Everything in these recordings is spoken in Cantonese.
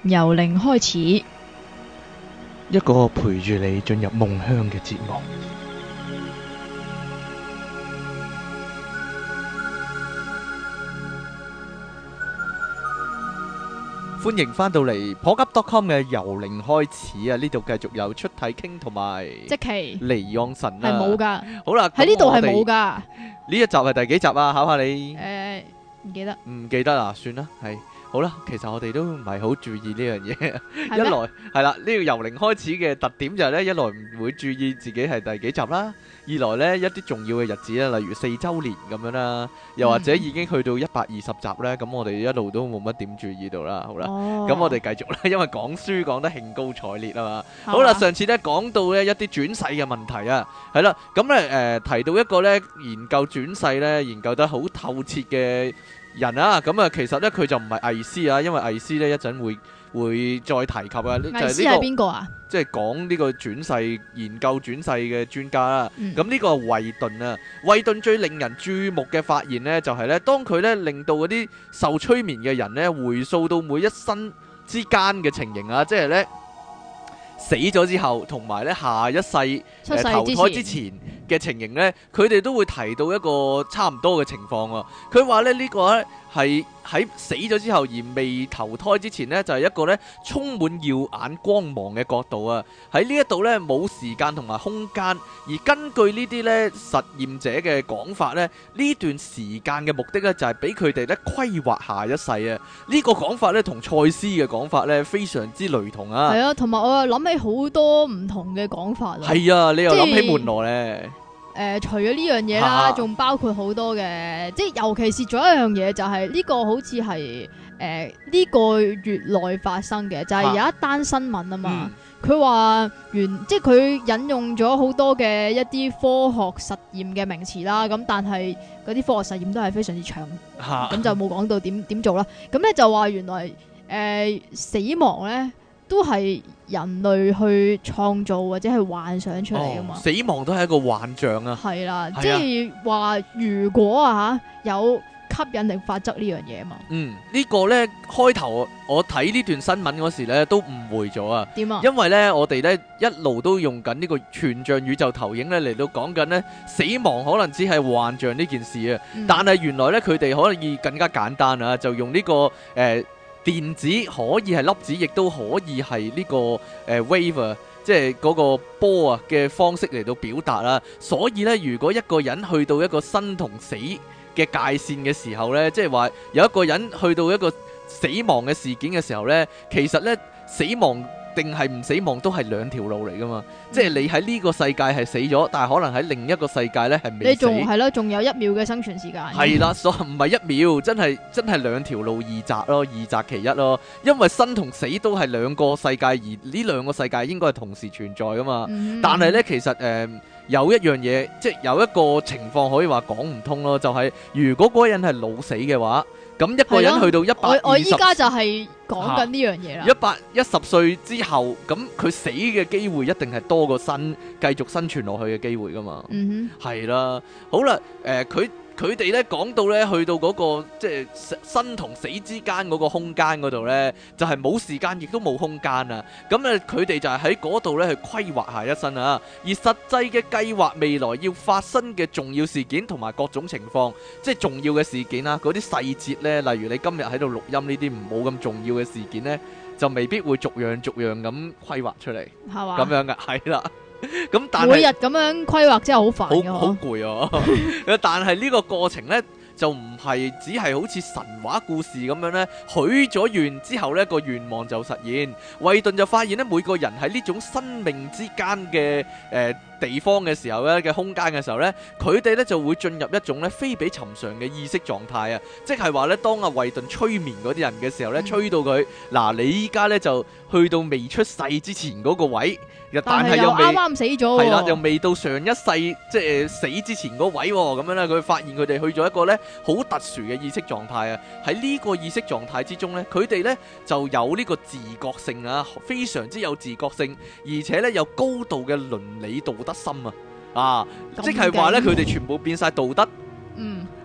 由零開始， 一個陪住你進入夢鄉嘅節目。歡迎翻到嚟 podcast.com 嘅由零開始啊！呢度繼續有出體傾同埋即期離岸神係冇噶， 好啦， 喺呢度係咁我哋冇噶。 呢一集係第幾集啊？考下你。 唔記得， 唔記得啦，算啦，係好啦。其實我哋都唔係好注意呢樣嘢， 係咩一來係啦，呢個由零開始嘅特點就係咧，一來唔會注意自己係第幾集啦，二來呢，一啲重要嘅日子咧，例如4週年咁樣啦，又或者已經去到120集咧，咁我哋一路都冇乜點注意到啦。好啦，咁我哋繼續啦，因為講書講得興高采烈啊嘛。好啦，上次咧講到咧一啲轉世嘅問題啊，係啦，咁咧提到一個咧研究轉世咧研究得好透徹嘅人啊，咁啊其實咧佢就唔係藝師啊，因為藝師咧一陣會再提及啊。 藝師係邊個啊？ 即係講呢個轉世研究轉世嘅專家啦。咁呢個係惠頓啊，惠頓最令人注目嘅發現呢，就係咧當佢咧令到嗰啲受催眠嘅人咧回溯到每一生之間嘅情形啊，即係咧死咗之後同埋咧下一世投胎之前嘅情形呢，佢哋都會提到一個差唔多嘅情況啊。佢話咧呢個咧係喺死咗之後而未投胎之前呢，就係一個咧充滿耀眼光芒嘅國度啊。喺呢一度呢，冇時間同埋空間，而根據呢啲咧實驗者嘅講法呢，呢段時間嘅目的呢，就係俾佢哋咧規劃下一世啊。呢個講法呢，同賽斯嘅講法呢，非常之雷同啊。 係啊，同埋我又諗起好多唔同嘅講法啊。 係啊，你又諗起門羅呢？ 除咗呢樣嘢啦，仲包括好多嘅，即係尤其是仲有一樣嘢，就係呢個好似係呢個月內發生嘅，就係有一單新聞啊嘛。佢話即係佢引用咗好多嘅一啲科學實驗嘅名詞啦，咁但係嗰啲科學實驗都係非常之長，咁就冇講到點做啦。咁咧就話原來死亡咧都係人類去創造或者係幻想出嚟噶嘛。 死亡都係一個幻象啊。 係啦，即係話如果有吸引力法則呢樣嘢嘛。 呢個呢，開頭我睇呢段新聞嗰時呢都誤會咗啊。 點啊？ 因為呢，我哋呢一路都用緊呢個全像宇宙投影呢嚟到講緊呢死亡可能只係幻象呢件事啊。但係原來呢，佢哋可以更加簡單啊，就用呢個電子可以係粒子，亦都可以係呢個wave，即係嗰個波啊嘅方式嚟到表達啦。所以呢，如果一個人去到一個生同死嘅界線嘅時候呢，即係話有一個人去到一個死亡嘅事件嘅時候呢，其實呢，死亡定係唔死亡都係兩條路嚟噶嘛。即係你喺呢個世界係死咗，但係可能喺另一個世界呢係未死。 你仲係咯，仲有1秒嘅生存時間。 係啦，所以唔係1秒，真係兩條路二擇咯，二擇其一咯。因為生同死都係兩個世界，而呢兩個世界應該係同時存在噶嘛。但係呢，其實有一樣嘢，即係有一個情況可以話講唔通咯，就係如果嗰個人係老死嘅話，咁一個人去到120， 我依家就係講緊呢樣嘢啦。 110歲之後，咁佢死嘅機會一定係多過繼續生存落去嘅機會噶嘛。係啦，好啦，佢哋咧講到咧去到嗰個即係生同死之間嗰個空間嗰度咧，就係冇時間亦都冇空間啊！咁咧佢哋就係喺嗰度咧去規劃下一生啊，而實際嘅計劃未來要發生嘅重要事件同埋各種情況，即係重要嘅事件啊，嗰啲細節咧，例如你今日喺度錄音呢啲唔冇咁重要嘅事件咧，就未必會逐樣逐樣咁規劃出嚟，係嘛？咁樣嘅係啦。咁但係每日咁樣規劃真係好煩嘅， 好攰啊！但係呢個過程呢，就唔係只係好似神話故事咁樣呢，許咗願之後呢個願望就實現。惠頓就發現呢，每個人喺呢種生命之間嘅地方嘅時候咧嘅空間嘅時候呢，佢哋呢就會進入一種呢非比尋常嘅意識狀態啊！即係話呢，當阿惠頓催眠嗰啲人嘅時候呢，催到佢嗱，你依家呢就去到未出世之前嗰個位，但係又啱啱死咗， 係啦，又未到上一世即係死之前嗰位咁樣呢，佢發現佢哋去咗一個呢好特殊嘅意識狀態啊！喺呢個意識狀態之中呢，佢哋呢就有呢個自覺性啊，非常之有自覺性，而且呢有高度嘅倫理道德心啊！即係話呢，佢哋全部變晒道德，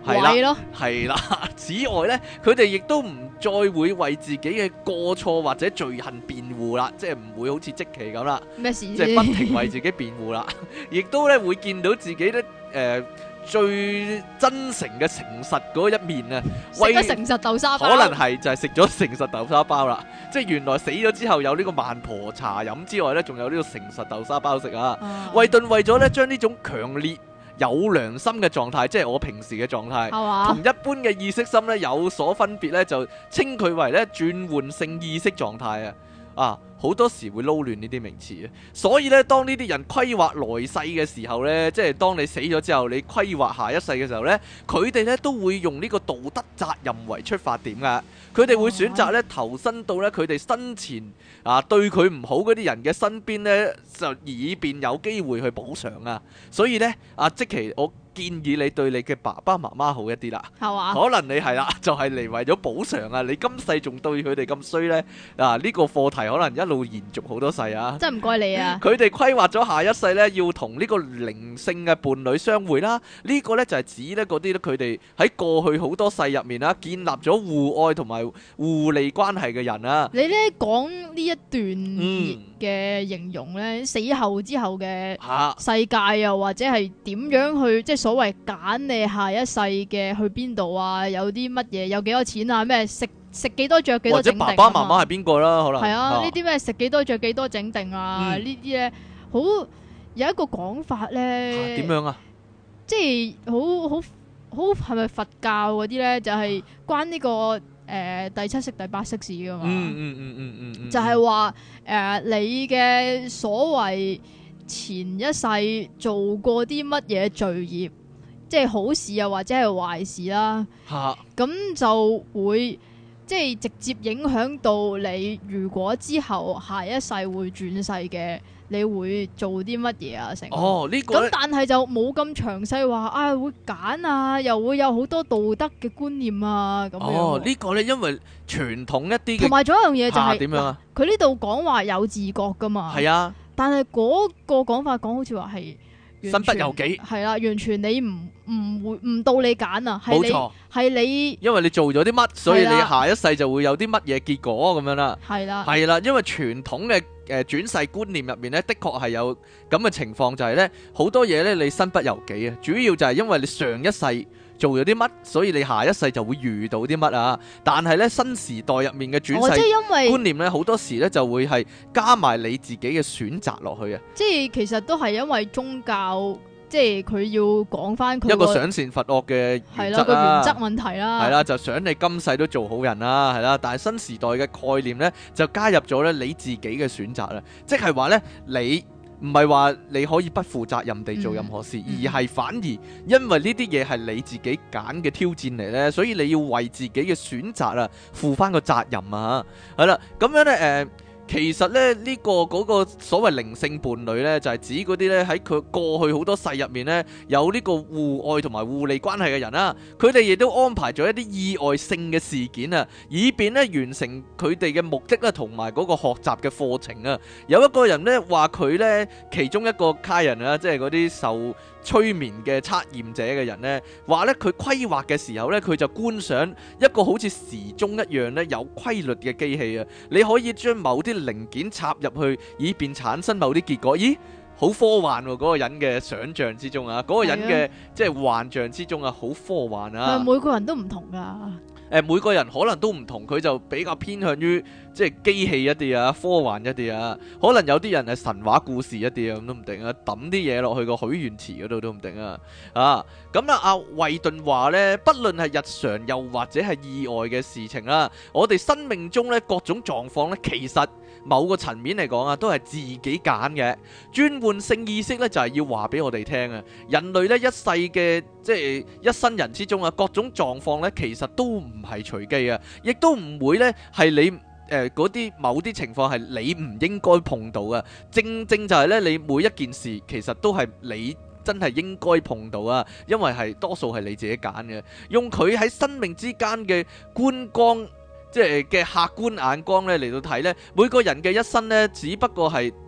位咯， 係啦。此外咧，佢哋亦都唔再會為自己嘅過錯或者罪行辯護啦，即係唔會好似積奇咁啦， 咩事即係不停為自己辯護啦，亦都咧會見到自己咧最真誠嘅誠實嗰一面啊！ 食咗誠實豆沙包， 可能係就係食咗誠實豆沙包啦，即係原來死咗之後有呢個孟婆茶飲之外咧，仲有呢個誠實豆沙包食啊！惠頓為咗咧將呢種強烈有良心嘅狀態，即係我平時嘅狀態，同一般嘅意識心咧有所分別咧，就稱佢為咧轉換性意識狀態啊！啊，好多時會撈亂呢啲名詞啊，所以咧，當呢啲人規劃來世嘅時候咧，即係當你死咗之後，你規劃下一世嘅時候咧，佢哋咧都會用呢個道德責任為出發點噶，佢哋會選擇咧投身到咧佢哋生前啊對佢唔好嗰啲人嘅身邊咧，就以便有機會去補償啊，所以咧即其我建議你對你嘅爸爸媽媽好一啲啦，係嘛？可能你係啦，就係嚟為咗補償啊！你今世仲對佢哋咁衰呢？呢個課題可能一路延續好多世啊！ 真係唔該你啊！ 佢哋規劃咗下一世呢，要同呢個靈性嘅伴侶相會啦。呢個呢，就係指呢嗰啲咧，佢哋喺過去好多世入面啦，建立咗互愛同埋互利關係嘅人啊！ 你呢講呢一段嘅形容呢，死後之後嘅世界又或者係點樣去即係所謂揀你下一世嘅去邊度啊？有啲乜嘢？有幾多錢啊？咩食幾多着幾多整定啊？ 或者爸爸媽媽係邊個啦？可能係啊，呢啲咩食幾多着幾多整定啊？呢啲咧好有一個講法咧， 點樣啊？即係好係咪佛教嗰啲咧？就係關呢個第七識第八識事噶嘛？就係話你嘅所謂前一世做過啲乜嘢罪業，即係好事又或者係壞事啦，咁就會即係直接影響到你。如果之後下一世會轉世嘅，你會做啲乜嘢啊？成呢個咁，但係就冇咁詳細話會揀啊，又會有好多道德嘅觀念啊咁樣。 呢個呢，因為傳統一啲嘅， 同埋仲有一樣嘢就係點樣啊？ 佢呢度講話有自覺噶嘛？ 係啊。 但係嗰個講法講好似話係身不由己， 係啦，完全你唔到你揀啊， 冇錯， 係你，因為你做咗啲乜，所以你下一世就會有啲乜嘢結果咁樣啦。係啦，因為傳統嘅轉世觀念入面呢，的確係有咁嘅情況，就係呢好多嘢呢，你身不由己啊，主要就係因為你上一世做咗啲乜，所以你下一世就會遇到啲乜啊！但係咧新時代入面嘅轉世觀念咧，好多時咧就會係加埋你自己嘅選擇落去啊！ 即係其實都係因為宗教，即係佢要講翻佢一個賞善罰惡嘅原則個原則問題啦。 係啦，就想你今世都做好人啦，係啦。但係新時代嘅概念咧，就加入咗咧你自己嘅選擇啦，即係話咧你。唔係話你可以不負責任地做任何事，而係反而因為呢啲嘢係你自己揀嘅挑戰嚟呢，所以你要為自己嘅選擇啊負翻個責任啊！係啦，咁樣呢，其實咧呢個嗰個所謂靈性伴侶呢，就係指嗰啲呢喺佢過去好多世入面呢，有呢個互愛同埋互利關係嘅人啦，佢哋亦都安排咗一啲意外性嘅事件啊，以便呢完成佢哋嘅目的啦，同埋嗰個學習嘅課程啊。有一個人呢話佢呢其中一個客人啊，即係嗰啲受催眠嘅測驗者嘅人呢，話呢佢規劃嘅時候呢，佢就觀想一個好似時鐘一樣呢有規律嘅機器啊，你可以將某啲零件插入去，以便產生某啲結果。咦，好科幻喎！嗰個人嘅想象之中啊，嗰個人嘅即係幻象之中啊，好科幻啊！ 每個人都唔同噶。 每個人可能都唔同，佢就比較偏向於即係機器一啲啊，科幻一啲啊。可能有啲人係神話故事一啲啊，咁都唔定啊。抌啲嘢落去個許願池嗰度都唔定啊。咁啦，阿惠頓話呢，不論係日常又或者係意外嘅事情啦，我哋生命中呢各種狀況呢，其實某個層面嚟講啊，都係自己揀嘅。轉換性意識呢，就係要話俾我哋聽啊，人類呢一世嘅即係一生人之中啊，各種狀況呢，其實都唔係隨機啊，亦都唔會呢係你嗰啲某啲情況係你唔應該碰到啊。正正就係呢，你每一件事其實都係你真係應該碰到啊，因為係多數係你自己揀嘅，用佢喺生命之間嘅觀光。即係嘅客觀眼光咧嚟到睇咧，每個人嘅一生咧，只不過係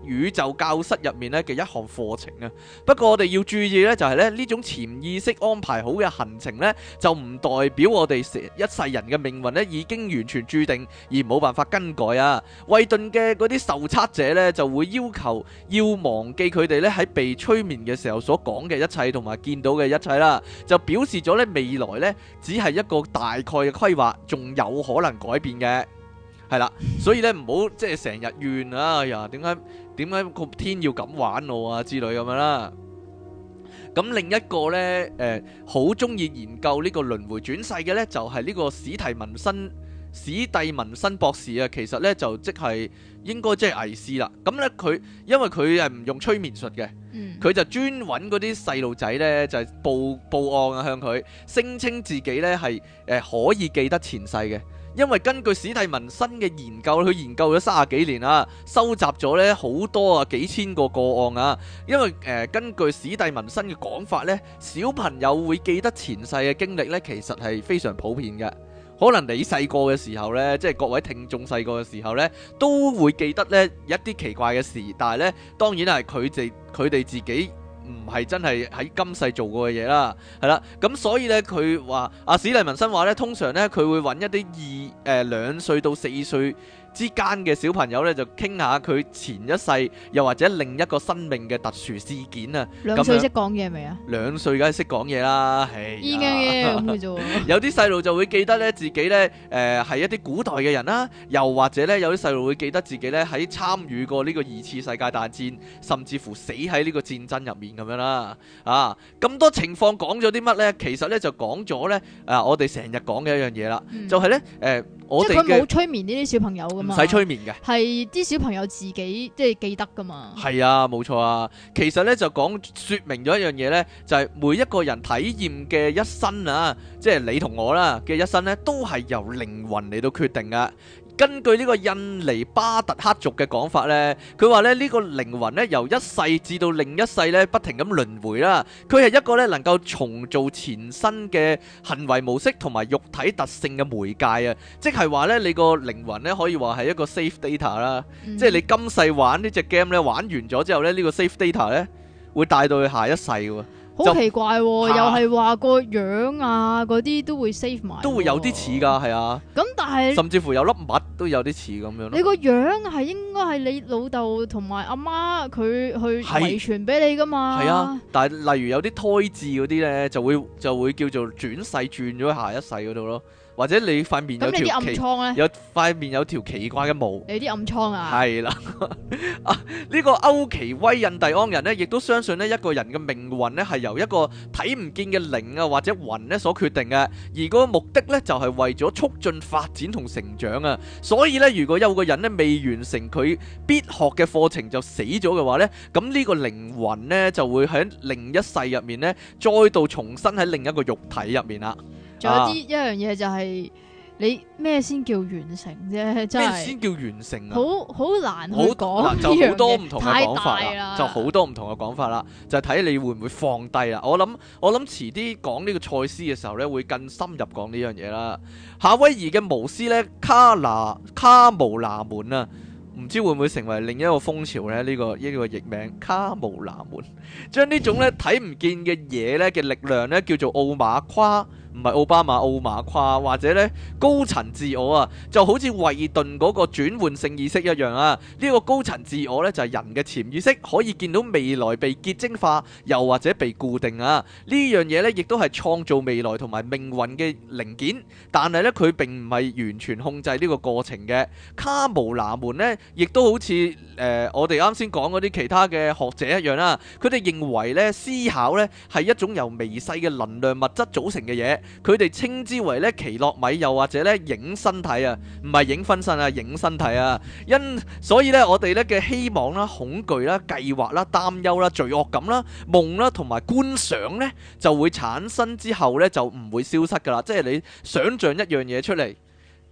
宇宙教室入面咧嘅一項課程啊。不過我哋要注意咧，就係咧呢種潛意識安排好嘅行程咧，就唔代表我哋一世人嘅命運咧已經完全注定而冇辦法更改啊。惠頓嘅嗰啲受測者咧就會要求要忘記佢哋咧喺被催眠嘅時候所講嘅一切同埋見到嘅一切啦，就表示咗咧未來咧只係一個大概嘅規劃，仲有可能改變嘅。係啦，所以咧唔好即係成日怨啊！哎呀，點解個天要咁玩我啊之類咁樣啦。咁另一個咧好中意研究呢個輪迴轉世嘅咧，就係呢個史蒂文森博士啊。其實咧就應該即係藝師啦。咁咧佢因為佢係唔用催眠術嘅，佢就專揾嗰啲細路仔咧就係報案啊，向佢聲稱自己咧係可以記得前世嘅。因為根據史蒂文森嘅研究，佢研究咗30幾年啊，收集咗咧好多啊幾千個個案啊。因為根據史蒂文森嘅講法咧，小朋友會記得前世嘅經歷咧，其實係非常普遍嘅。可能你細個嘅時候咧，即係各位聽眾細個嘅時候咧，都會記得咧一啲奇怪嘅事，但係咧當然係佢哋自己唔係真係喺今世做過嘅嘢啦，係啦，咁所以咧佢話史蒂文森話咧，通常咧佢會揾一啲2歲到4歲之間嘅小朋友咧，就傾下佢前一世又或者另一個生命嘅特殊事件啊。 2歲識講嘢未啊 ？2歲梗係識講嘢啦， 已經咁嘅啫。 有啲細路就會記得咧自己咧係一啲古代嘅人啦，又或者咧有啲細路會記得自己咧喺參與過呢個2次世界大戰，甚至乎死喺呢個戰爭入面咁樣啦。啊，咁多情況講咗啲乜咧？其實咧就講咗咧我哋成日講嘅一樣嘢啦，就係咧我哋即係佢冇催眠呢啲小朋友噶嘛， 唔使催眠嘅， 係啲小朋友自己即係記得噶嘛。 係啊，冇錯啊。其實咧就說明咗一樣嘢咧，就係每一個人體驗嘅一生啊，即係你同我啦嘅一生咧，都係由靈魂嚟到決定噶。根據呢個印尼巴特克族嘅講法呢，佢話咧呢個靈魂咧由一世至到另一世咧不停咁輪迴啦，佢係一個咧能夠重做前身嘅行為模式同埋肉體特性嘅媒介啊，即係話咧你個靈魂咧可以話係一個 save data 啦，即係你今世玩呢隻 game 咧玩完咗之後咧呢個 save data 咧會帶到去下一世喎。 好奇怪喎，又係話個樣啊嗰啲都會 save 埋， 都會有啲似㗎，係啊。 咁但係甚至乎有粒物都有啲似咁樣。 你個樣係應該係你老豆同埋阿媽佢去遺傳俾你㗎嘛？係啊， 但係例如有啲胎痣嗰啲咧，就會叫做轉世轉咗下一世嗰度咯。或者你塊面有條暗瘡咧，有塊面有條奇怪嘅毛， 你啲暗瘡啊？係啦， 呢個歐奇威印第安人呢，亦都相信呢一個人嘅命運呢係由一個睇唔見嘅靈啊或者魂呢所決定嘅，而嗰個目的呢，就係為咗促進發展同成長啊。所以呢，如果有個人呢未完成佢必學嘅課程就死咗嘅話呢，咁呢個靈魂呢，就會喺另一世入面呢，再度重新喺另一個肉體入面啦。 仲有一樣嘢就係你咩先叫完成啫，真係咩先叫完成啊？ 好難去講， 就好多唔同嘅講法啦， 就好多唔同嘅講法啦，就睇你會唔會放低啦。我諗遲啲講呢個賽斯嘅時候咧，會更深入講呢樣嘢啦。夏威夷嘅巫師咧，卡姆拿門啊，唔知會唔會成為另一個風潮咧？呢個譯名卡姆拿門，將呢種咧睇唔見嘅嘢咧嘅力量咧叫做奧馬夸。唔係奧巴馬，奧馬夸，或者咧高層自我啊，就好似惠頓嗰個轉換性意識一樣啊。呢個高層自我咧就係人嘅潛意識，可以見到未來被結晶化，又或者被固定啊。呢樣嘢咧亦都係創造未來同埋命運嘅零件，但係咧佢並唔係完全控制呢個過程嘅。卡姆拿門咧，亦都好似我哋啱先講嗰啲其他嘅學者一樣啦。佢哋認為咧思考咧係一種由微細嘅能量物質組成嘅嘢。佢哋稱之為咧奇諾米，又或者咧影身體啊，唔係影分身啊，影身體啊。所以咧，我哋咧嘅希望啦、恐懼啦、計劃啦、擔憂啦、罪惡感啦、夢啦同埋觀想咧，就會產生之後咧就唔會消失噶啦。即係你想像一樣嘢出嚟，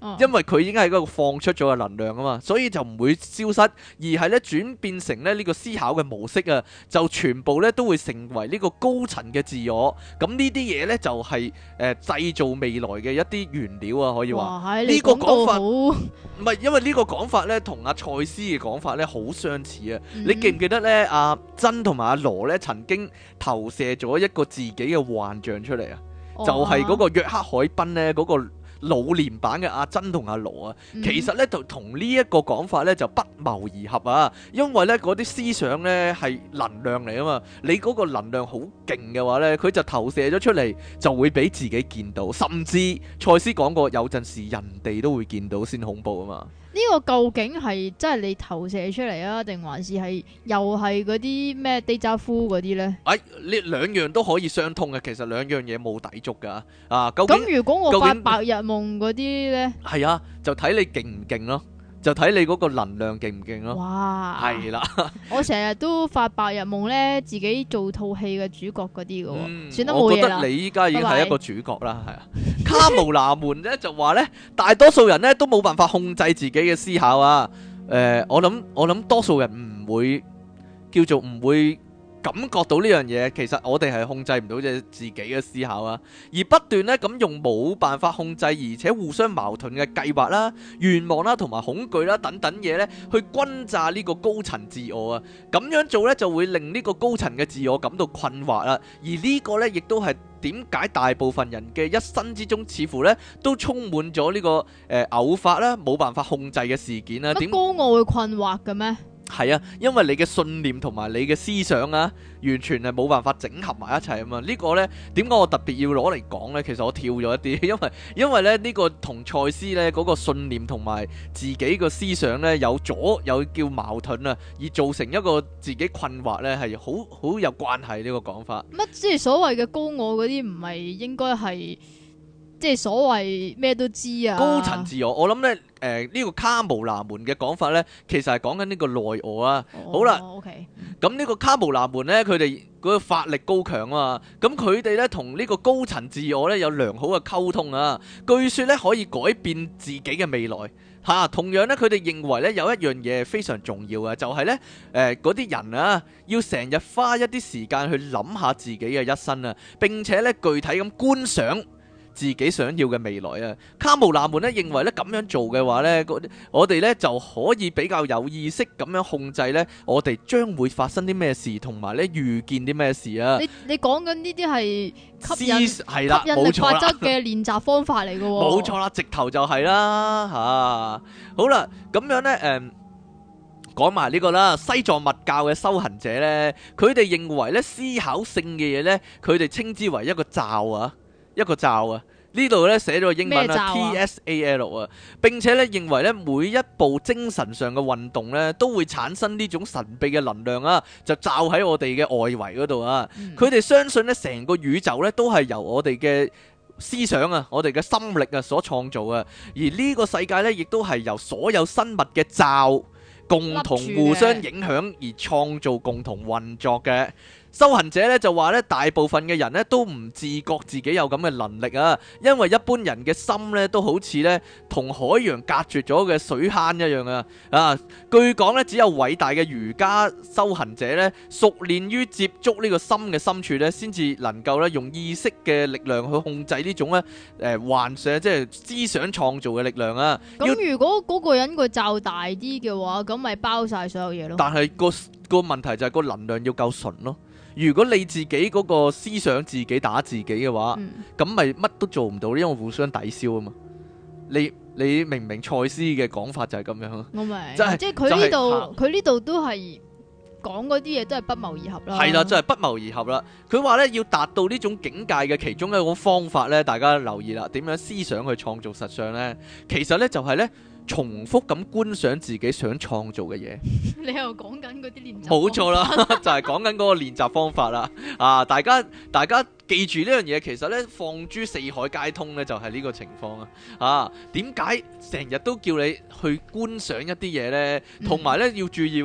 因為佢已經係一個放出咗嘅能量啊嘛，所以就唔會消失，而係咧轉變成咧呢個思考嘅模式啊，就全部咧都會成為呢個高層嘅自我。咁呢啲嘢咧就係製造未來嘅一啲原料啊，可以話呢個講法唔係，因為呢個講法咧同阿賽斯嘅講法咧好相似啊。你記唔記得咧阿珍同埋阿羅咧曾經投射咗一個自己嘅幻象出嚟啊？就係嗰個約克海濱咧嗰個老年版嘅阿珍同阿羅啊，其實咧就同呢一個講法咧就不謀而合啊，因為咧嗰啲思想咧係能量嚟啊嘛，你嗰個能量好勁嘅話咧，佢就投射咗出嚟，就會俾自己見到，甚至賽斯講過有陣時人哋都會見到先恐怖啊嘛。 呢個究竟係真係你投射出嚟啊，定還是係又係嗰啲咩 déjà vu 嗰啲呢？ 呢兩樣都可以相通嘅，其實兩樣嘢冇抵觸噶。究竟咁如果我發白日夢嗰啲呢？ 係啊，就睇你勁唔勁咯。就睇你嗰個能量勁唔勁咯。 哇！ 係啦， 我成日都發白日夢咧，自己做套戲嘅主角嗰啲嘅，算得冇嘢啦。 我覺得你依家已經係一個主角啦，係啊。卡姆拿門咧就話咧，大多數人咧都冇辦法控制自己嘅思考啊。我諗多數人唔會叫做唔會感覺到呢樣嘢，其實我哋係控制唔到自己嘅思考啊，而不斷咧咁用冇辦法控制而且互相矛盾嘅計劃啦、願望啦同埋恐懼啦等等嘢咧，去轟炸呢個高層自我啊。咁樣做咧就會令呢個高層嘅自我感到困惑啦。而呢個咧亦都係點解大部分人嘅一生之中，似乎咧都充滿咗呢個偶發啦、冇辦法控制嘅事件啦。 乜高我會困惑嘅咩？ 係啊，因為你嘅信念同埋你嘅思想啊，完全係冇辦法整合埋一齊啊嘛。呢個呢，點解我特別要攞嚟講呢？其實我跳咗一啲，因為咧呢個同賽斯呢嗰個信念同埋自己個思想呢有叫矛盾啊，而造成一個自己困惑呢，係好有關係呢個講法。 乜即係所謂嘅高我嗰啲唔係應該係即係所謂咩都知啊？ 高層自我，我諗呢。呢個卡姆拿門嘅講法呢，其實係講緊呢個內我啊。好啦，咁呢個卡姆拿門呢，佢哋嗰個法力高強啊，咁佢哋呢，同呢個高層自我呢，有良好嘅溝通啊。據說呢，可以改變自己嘅未來嚇。同樣呢，佢哋認為呢，有一樣嘢非常重要啊，就係呢嗰啲人啊，要成日花一啲時間去諗下自己嘅一生啊，並且呢，具體咁觀想自己想要嘅未來啊。卡姆拿門咧認為咧咁樣做嘅話咧，我哋咧就可以比較有意識咁樣控制咧，我哋將會發生啲咩事，同埋咧預見啲咩事啊。 你講緊呢啲係吸引力法則嘅練習方法嚟嘅喎。 冇錯啦，直頭就係啦嚇。好啦，咁樣咧講埋呢個啦，西藏密教嘅修行者咧，佢哋認為咧思考性嘅嘢咧，佢哋稱之為一個罩啊。一個罩啊，呢度咧寫咗個英文啊 TSAL 啊，並且咧認為咧每一步精神上嘅運動咧都會產生呢種神秘嘅能量啊，就罩喺我哋嘅外圍嗰度啊。佢哋相信咧成個宇宙咧都係由我哋嘅思想啊，我哋嘅心力啊所創造啊，而呢個世界咧亦都係由所有生物嘅罩共同互相影響而創造共同運作嘅。修行者咧就話咧，大部分嘅人咧都唔自覺自己有咁嘅能力啊，因為一般人嘅心咧都好似咧同海洋隔絕咗嘅水坑一樣啊！據講咧，只有偉大嘅瑜伽修行者咧，熟練於接觸呢個心嘅深處咧，先至能夠咧用意識嘅力量去控制呢種咧幻想，即係思想創造嘅力量啊！ 咁如果嗰個人個罩大啲嘅話，咁咪包晒所有嘢咯。 但係個問題就係個能量要夠純咯。如果你自己嗰個思想自己打自己嘅話，咁咪乜都做唔到，因為互相抵消啊嘛。你明唔明賽斯嘅講法就係咁樣？我明，即係佢呢度都係講嗰啲嘢都係不謀而合啦。 係啦，就係不謀而合啦。佢話咧要達到呢種境界嘅其中一種方法咧，大家留意啦。點樣思想去創造實相咧？其實咧就係咧。重複咁觀想自己想創造嘅嘢， 你又講緊嗰啲練習？ 冇錯啦，就係講緊嗰個練習方法啦。啊，大家記住呢樣嘢，其實呢，放諸四海皆通呢，就係呢個情況啊。啊，點解成日都叫你去觀想一啲嘢呢？同埋呢，要注意，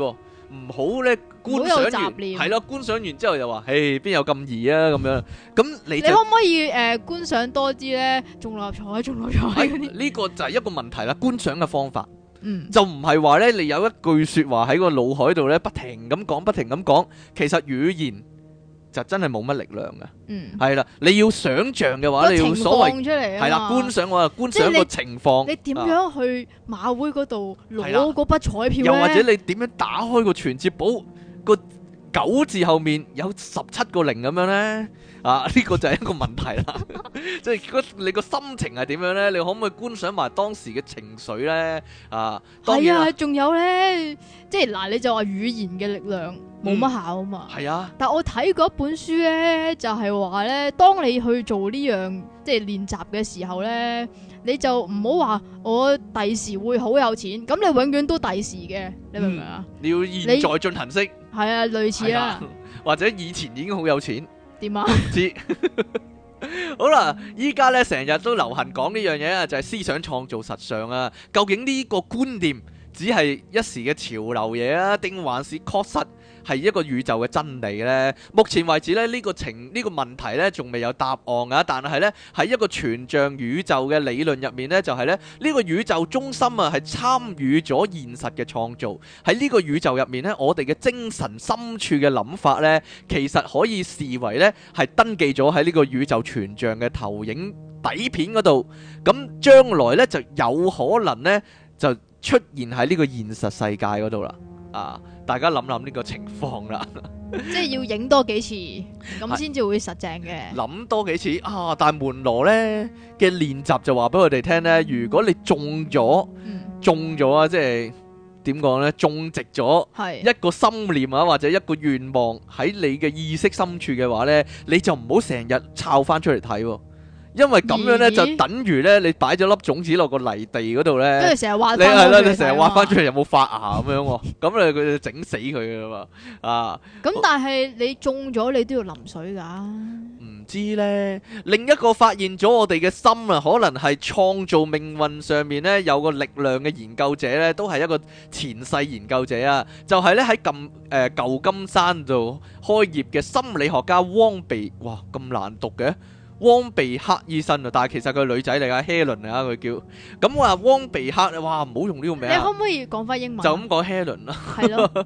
唔好咧觀賞完，係咯，觀賞完之後又話，誒邊有咁易啊咁樣。咁你可唔可以觀賞多啲咧？中六合彩嗰啲？ 呢個就係一個問題啦，觀賞嘅方法。就唔係話咧，你有一句說話喺個腦海度咧，不停咁講，不停咁講，其實語言就真係冇乜力量嘅。係啦，你要想象嘅話，你要所謂係啦，觀賞我觀賞個情況。 你點樣去馬會嗰度攞嗰筆彩票咧？ 又或者你點樣打開個存摺簿，個9字後面有17個零咁樣咧？呢個就係一個問題啦。即係你個心情係點樣咧？你可唔可以觀賞埋當時嘅情緒咧？係啊，仲有咧，即係嗱，你就話語言嘅力量冇乜效啊嘛。係啊，但我睇過一本書咧，就係話咧，當你去做呢樣即係練習嘅時候咧，你就唔好話我第時會好有錢，咁你永遠都第時嘅，你明唔明啊？ 你要現在進行式。 係啊，類似啊， 或者以前已經好有錢。 點啊？ 唔知。好啦，依家咧成日都流行講呢樣嘢啊，就係思想創造實相啊。究竟呢個觀念只係一時嘅潮流嘢啊，定還是確實係一個宇宙嘅真理呢？目前為止咧，呢個問題咧仲未有答案啊。但係咧喺一個全像宇宙嘅理論入面咧，就係咧呢個宇宙中心啊係參與咗現實嘅創造。喺呢個宇宙入面咧，我哋嘅精神深處嘅諗法咧，其實可以視為咧係登記咗喺呢個宇宙全像嘅投影底片嗰度。咁將來咧就有可能咧就出現喺呢個現實世界嗰度啦。大家諗諗呢個情況啦， 即係要影多幾次，咁先至會實正嘅。 諗多幾次但係門羅呢嘅練習就話俾我哋聽呢，如果你中咗啊，即係點講呢？種植咗一個心念啊，或者一個願望喺你嘅意識深處嘅話呢，你就唔好成日抄翻出嚟睇喎。因為咁樣咧，就等於咧，你擺咗粒種子落個泥地嗰度咧， 跟住成日挖， 你係啦，你成日挖翻出嚟有冇發芽咁樣喎？咁你佢就整死佢噶嘛咁但係你種咗，你都要淋水噶。 唔知咧，另一個發現咗我哋嘅心啊，可能係創造命運上面咧有個力量嘅研究者咧，都係一個前世研究者啊。就係咧喺舊金山度開業嘅心理學家汪比，哇咁難讀嘅。汪比克醫生啊，但係其實佢係女仔嚟噶，Helen 啊佢叫。咁話汪比克，哇唔好用呢個名。 你可唔可以講翻英文？ 就咁講 Helen 啦。 係咯。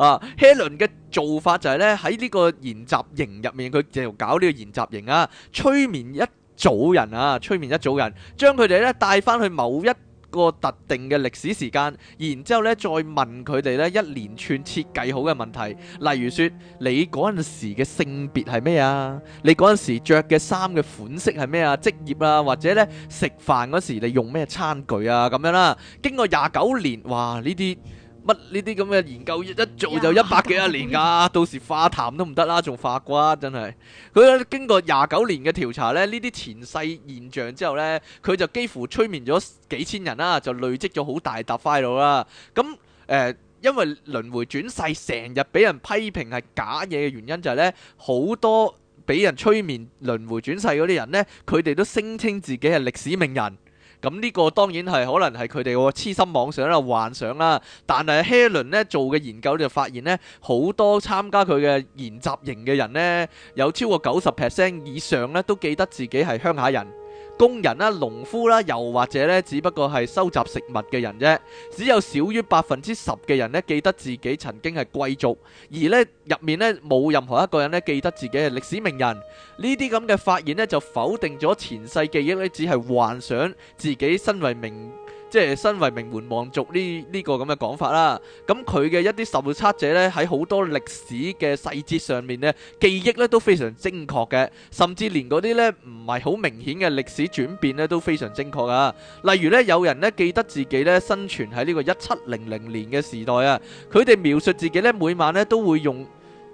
Helen 嘅做法就係咧喺呢個研習營入面，佢就搞呢個研習營啊，催眠一組人，將佢哋咧帶翻去某一個特定嘅歷史時間，然之後咧再問佢哋咧一連串設計好嘅問題，例如說你嗰陣時嘅性別係咩啊？你嗰陣時着嘅衫嘅款式係咩啊？職業啊，或者咧食飯嗰時你用咩餐具啊？咁樣啦，經過29年，哇呢啲咁嘅研究一做就100幾年㗎，到時化痰都唔得啦，仲化骨真係。佢經過29年嘅調查咧，呢啲前世現象之後咧，佢就幾乎催眠咗幾千人啦，就累積咗好大沓 file 啦。咁因為輪迴轉世成日俾人批評係假嘢嘅原因就係咧，好多俾人催眠輪迴轉世嗰啲人咧，佢哋都聲稱自己係歷史名人。咁呢個當然係可能係佢哋個痴心妄想啦、幻想啦。但係 Helen 咧做嘅研究就發現咧，好多參加佢嘅研習營嘅人咧，有超過90% 以上咧都記得自己係鄉下人、工人啦、農夫啦，又或者咧只不過係收集食物嘅人啫。只有少於10%嘅人咧記得自己曾經係貴族，而咧入面咧冇任何一個人咧記得自己係歷史名人。呢啲咁嘅發現咧就否定咗前世記憶咧只係幻想自己身為名門望族呢個咁嘅講法啦。咁佢嘅一啲受測者咧喺好多歷史嘅細節上面咧記憶咧都非常精確嘅，甚至連嗰啲咧唔係好明顯嘅歷史轉變咧都非常精確啊。例如咧有人咧記得自己咧生存喺呢個1700年嘅時代啊，佢哋描述自己咧每晚咧都會用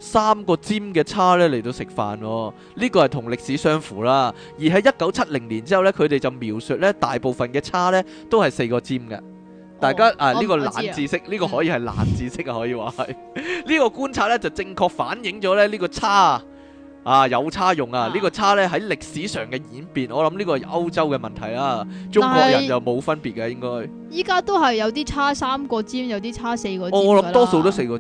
3個尖嘅叉咧嚟到食飯，呢個係同歷史相符啦。而喺1970年之後咧，佢哋就描述咧大部分嘅叉咧都係4個尖嘅。大家呢個冷知識，呢個可以係冷知識啊，可以話係呢個觀察咧就正確反映咗咧呢個叉有叉用啊。呢個叉咧喺歷史上嘅演變，我諗呢個係歐洲嘅問題啦，中國人就冇分別嘅應該。 依家都係有啲叉3個尖，有啲叉4個尖。 我諗多數都4個尖啊。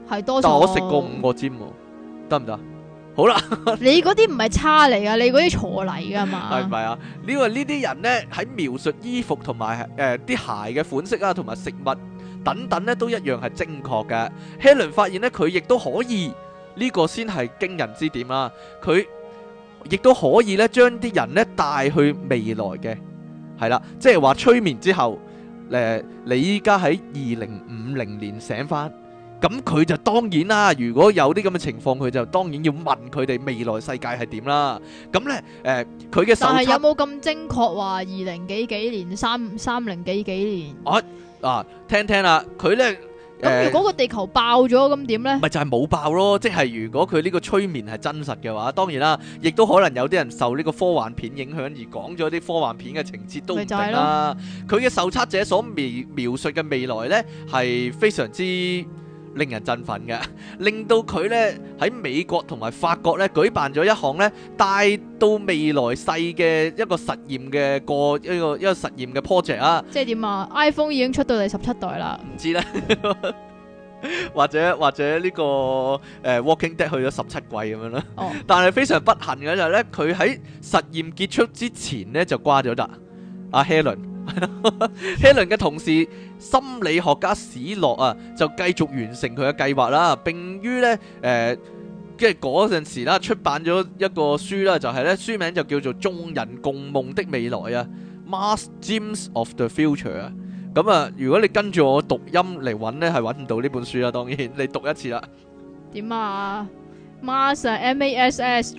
係多數。 但我食過5個尖喎，得唔得？好啦， 你嗰啲唔係叉嚟噶，你嗰啲錯嚟噶嘛？ 係咪啊？呢個呢啲人呢，喺描述衣服同埋啲鞋嘅款式啊，同埋食物等等呢，都一樣係精確嘅。希倫發現呢，佢亦都可以，呢個先係驚人之點啦。佢亦都可以咧，將啲人咧帶去未來嘅，係啦，即係話催眠之後，你依家喺2050年醒翻，咁佢就當然啦。如果有啲咁嘅情況，佢就當然要問佢哋未來世界係點啦。咁咧，佢嘅手冊， 但係有冇咁精確話20幾幾年、30幾幾年？ 聽聽啦，佢咧。 咁如果個地球爆咗，咁點呢？ 咪就係冇爆咯，即係如果佢呢個催眠係真實嘅話，當然啦，亦都可能有啲人受呢個科幻片影響而講咗啲科幻片嘅情節都唔定啦。佢嘅受測者所描述嘅未來呢，係非常之令人振奮嘅，令到佢呢喺美國同埋法國呢舉辦咗一項呢帶到未來世嘅一個實驗嘅一個實驗嘅 project 啊！ 即係點啊 ？iPhone 已經出到第17代啦， 唔知呢。或者呢個Walking Dead 去咗17季咁樣啦。哦，但係非常不幸嘅就係咧，佢喺實驗結束之前呢就瓜咗啦。阿 Helen 嘅同事心理學家史諾啊，就繼續完成佢嘅計劃啦，並於咧即係嗰陣時啦，出版咗一個書啦，就係咧書名就叫做《眾人共夢的未來》啊，《Mass Dreams of the Future》啊。咁啊，如果你跟住我讀音嚟揾呢，係揾唔到呢本書啦。當然，你讀一次啦。點啊 ？Mass M-A-S-S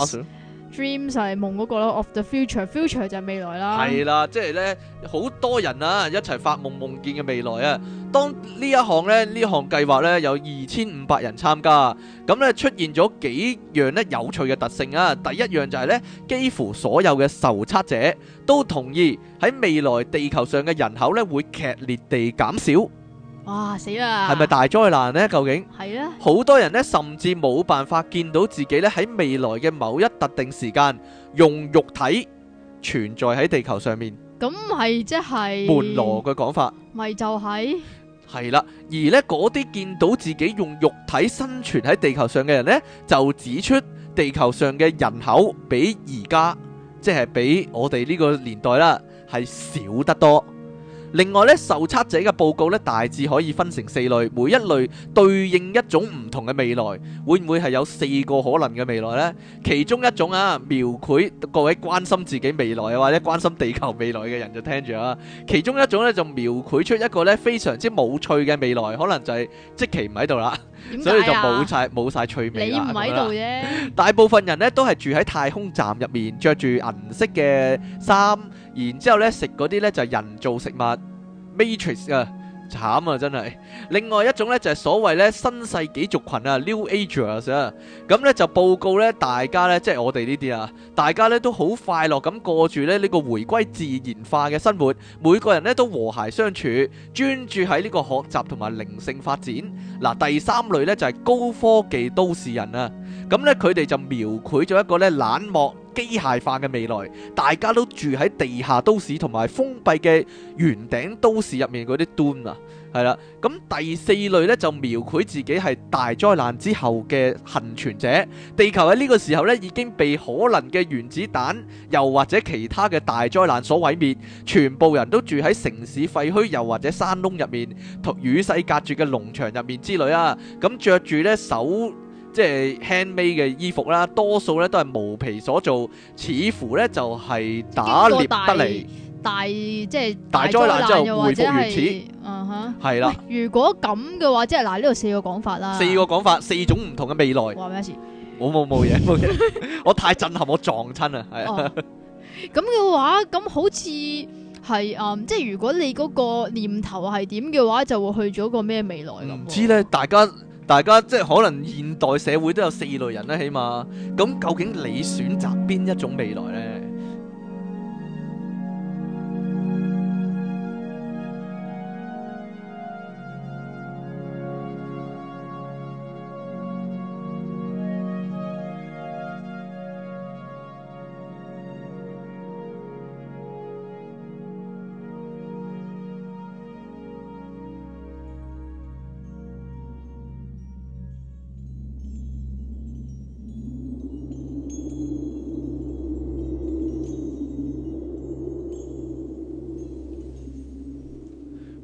Dreams 係夢嗰個咯 ，of the future 就係未來啦。 係啦，即係呢，好多人啊一齊發夢夢見嘅未來啊。當呢項計劃呢，有2500人參加，咁呢出現咗幾樣呢有趣嘅特性啊。第一樣就係呢，幾乎所有嘅受測者都同意喺未來地球上嘅人口呢會劇烈地減少。 哇，死啦！ 係咪大災難呢？究竟係啊！ 好多人呢，甚至冇辦法見到自己呢喺未來嘅某一特定時間用肉體存在喺地球上面。 咁係即係門羅嘅講法， 咪就係係啦。而呢嗰啲見到自己用肉體生存喺地球上嘅人呢，就指出地球上嘅人口比而家即係比我哋呢個年代啦係少得多。另外咧，受測者嘅報告咧大致可以分成4類，每一類對應一種唔同嘅未來。會唔會係有4個可能嘅未來呢？其中一種啊，描繪各位關心自己未來啊，或者關心地球未來嘅人就聽住啊。其中一種咧就描繪出一個咧非常之冇趣嘅未來，可能就係即期唔喺度啦，所以就冇晒趣味啦。 你唔喺度啫。 大部分人咧都係住喺太空站入面，着住銀色嘅衫。然之後咧食嗰啲咧就係人造食物 Matrix 啊，慘啊真係。另外一種咧就係所謂咧新世紀族群啊 New Agers 啊，咁咧就報告咧大家咧即係我哋呢啲啊，大家咧都好快樂咁過住咧呢個回歸自然化嘅生活，每個人咧都和諧相處，專注喺呢個學習同埋靈性發展。嗱，第三類咧就係高科技都市人啊，咁咧佢哋就描繪咗一個咧冷漠機械化嘅未來，大家都住喺地下都市同埋封閉嘅圓頂都市入面嗰啲端啊，係啦。咁第4類呢，就描繪自己係大災難之後嘅幸存者，地球喺呢個時候呢，已經被可能嘅原子彈又或者其他嘅大災難所毀滅，全部人都住喺城市廢墟又或者山窿入面，同與世隔絕嘅農場入面之類啊。咁着住呢即係 handmade 嘅衣服啦，多數咧都係毛皮所做，似乎咧就係打獵得嚟即係大災難之後回復原始。係啦。 如果咁嘅話，即係嗱呢度4個講法啦。 4個講法，4種唔同嘅未來。 話咩事？ 冇嘢，我太震撼，我撞親啊！係啊。 咁嘅話，咁好似係即係如果你嗰個念頭係點嘅話，就會去咗個咩未來咁？ 唔知咧，大家即係可能現代社會都有4類人啦，起碼咁究竟你選擇邊一種未來呢？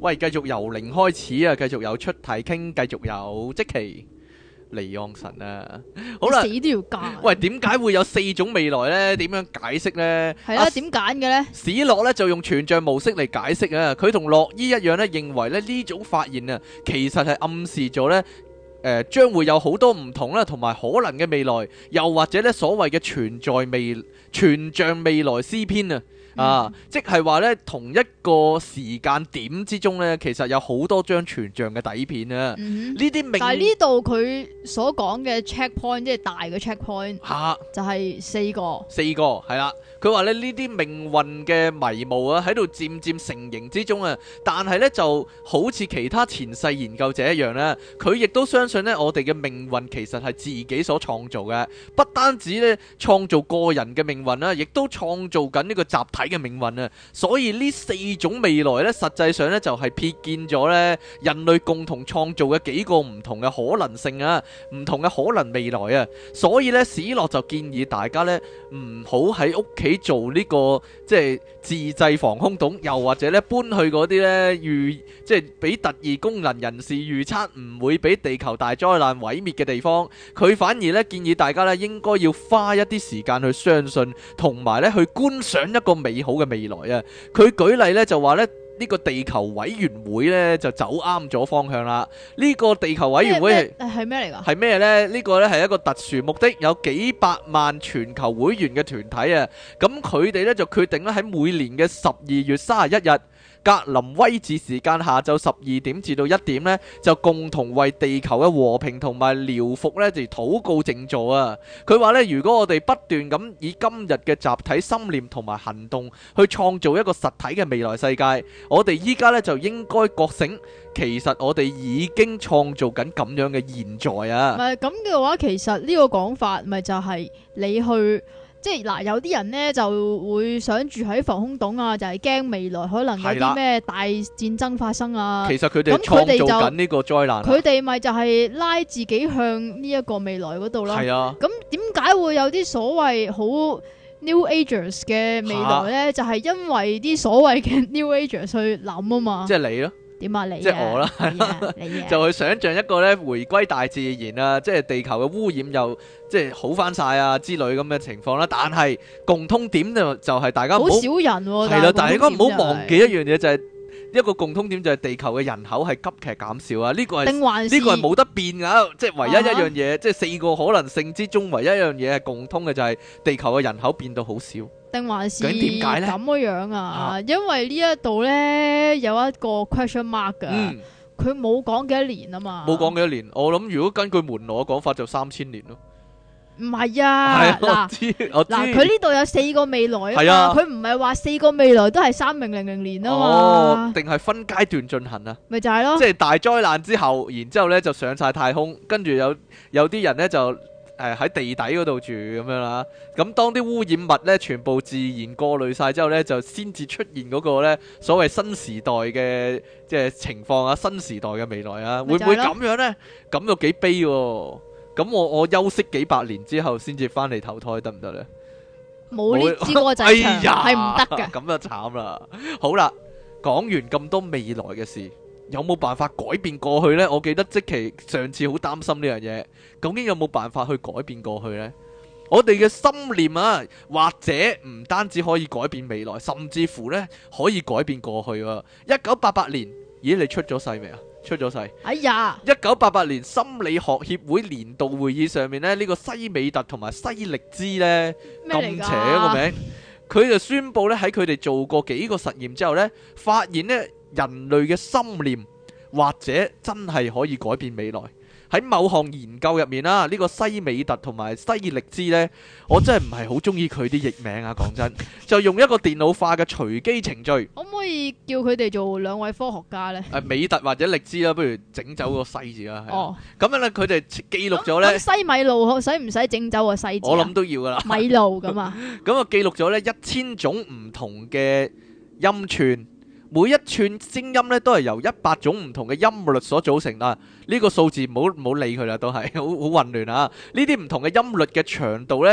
喂，繼續由零開始啊，繼續有出題傾，繼續有即期離岸神啊。好啦， 死都要加。 喂，點解會有4種未來呢？點樣解釋呢？ 係啦，點揀嘅呢？ 史洛呢就用全像模式嚟解釋啊。佢同洛伊一樣呢，認為咧呢種發現啊，其實係暗示咗呢。將會有好多唔同啦，同埋可能嘅未來，又或者咧所謂嘅全像未來詩篇啊，即係話咧同一個時間點之中咧，其實有好多張全像嘅底片啊。呢啲命， 但係呢度佢所講嘅 checkpoint， 即係大嘅 checkpoint，就係4個。4個係啦，佢話咧呢啲命運嘅迷霧啊，喺度漸漸成形之中啊。但係咧就好似其他前世研究者一樣咧，佢亦都相信咧我哋嘅命運其實係自己所創造嘅，不單止咧創造個人嘅命運啦，亦都創造緊呢個集體嘅命運啊。所以呢4種未來咧，實際上咧就係瞥見咗咧人類共同創造嘅幾個唔同嘅可能性啊，唔同嘅可能未來啊。所以咧史諾就建議大家咧唔好喺屋企做呢個即係自製防空洞，又或者咧搬去嗰啲咧即係俾特異功能人士預測唔會俾地球大災難毀滅嘅地方。佢反而咧建議大家咧應該要花一啲時間去相信，同埋咧去觀賞一個美好嘅未來啊。佢舉例咧就話咧呢個地球委員會咧就走啱咗方向啦。呢個地球委員會係咩嚟㗎？ 係咩呢？呢個咧係一個特殊目的，有幾百萬全球會員嘅團體啊。咁佢哋咧就決定咧喺每年嘅12月31日。格林威治時間下晝12點至到1點呢，就共同為地球嘅和平同埋療復呢，就禱告靜坐啊！佢話呢，如果我哋不斷咁以今日嘅集體心念同埋行動去創造一個實體嘅未來世界，我哋依家呢，就應該覺醒，其實我哋已經創造緊咁樣嘅現在啊！唔係咁嘅話，其實呢個講法咪就係你去。即係嗱，有啲人呢就會想住喺防空洞啊，就係驚未來可能有啲咩大戰爭發生啊。 其實佢哋創造緊呢個災難。 佢哋咪就係拉自己向呢一個未來嗰度咯。 係啊。 咁點解會有啲所謂好 New Agers 嘅未來呢？就係因為啲所謂嘅 New Agers 去諗啊嘛。 即係你咯。 點啊你？ 即係我啦，就去想像一個咧回歸大自然啊，即係地球嘅污染又即係好翻晒啊之類咁嘅情況啦。但係共通點就係大家好少人喎。係啦，但係應該唔好忘記一樣嘢，就係一個共通點就係地球嘅人口係急劇減少啊。呢個係冇得變㗎，即係唯一一樣嘢，即係4個可能性之中唯一一樣嘢係共通嘅，就係地球嘅人口變到好少。定還是點解咧？咁樣啊？因為呢一度咧有一個 question mark 噶，佢冇講幾多年啊嘛。冇講幾多年，我諗如果根據門羅嘅講法就3000年咯。唔係啊，嗱，佢呢度有4個未來啊嘛，佢唔係話4個未來都係3000年啊嘛。哦，定係分階段進行啊？咪就係咯，即係大災難之後，然之後咧就上晒太空，跟住有啲人咧就。喺地底嗰度住咁樣啦，咁當啲污染物咧全部自然過濾晒之後咧，就先至出現嗰個咧所謂新時代嘅即係情況啊，新時代嘅未來啊，會唔會咁樣呢？咁又幾悲喎！咁我休息幾百年之後先至翻嚟投胎得唔得呢？冇呢支歌仔唱係唔得嘅，咁就慘啦。好啦，講完咁多未來嘅事。有冇辦法改變過去呢？我記得即其上次好擔心呢樣嘢，究竟有冇辦法去改變過去呢？我哋嘅心念啊，或者唔單止可以改變未來，甚至乎呢可以改變過去喎。1988年，咦你出咗世未啊？出咗世。哎呀！1988年心理學協會年度會議上面呢，呢個西美特同埋西力茲呢，咁邪一個名，佢就宣布呢，喺佢哋做過幾個實驗之後呢，發現呢。人類嘅心念或者真係可以改變未來。喺某項研究入面啦，呢個西美特同埋西力茲呢，我真係唔係好中意佢啲譯名啊！講真，就用一個電腦化嘅隨機程序。可唔可以叫佢哋做兩位科學家呢？美特或者力茲啦，不如整走個西字啦。哦，咁樣咧，佢哋記錄咗呢。西米露使唔使整走個西字？我諗都要噶啦。米露咁啊。咁啊，記錄咗呢1000種唔同嘅音串。每一串聲音咧都係由100種唔同嘅音律所組成啦。呢個數字唔好理佢啦，都係好混亂啊！呢啲唔同嘅音律嘅長度咧，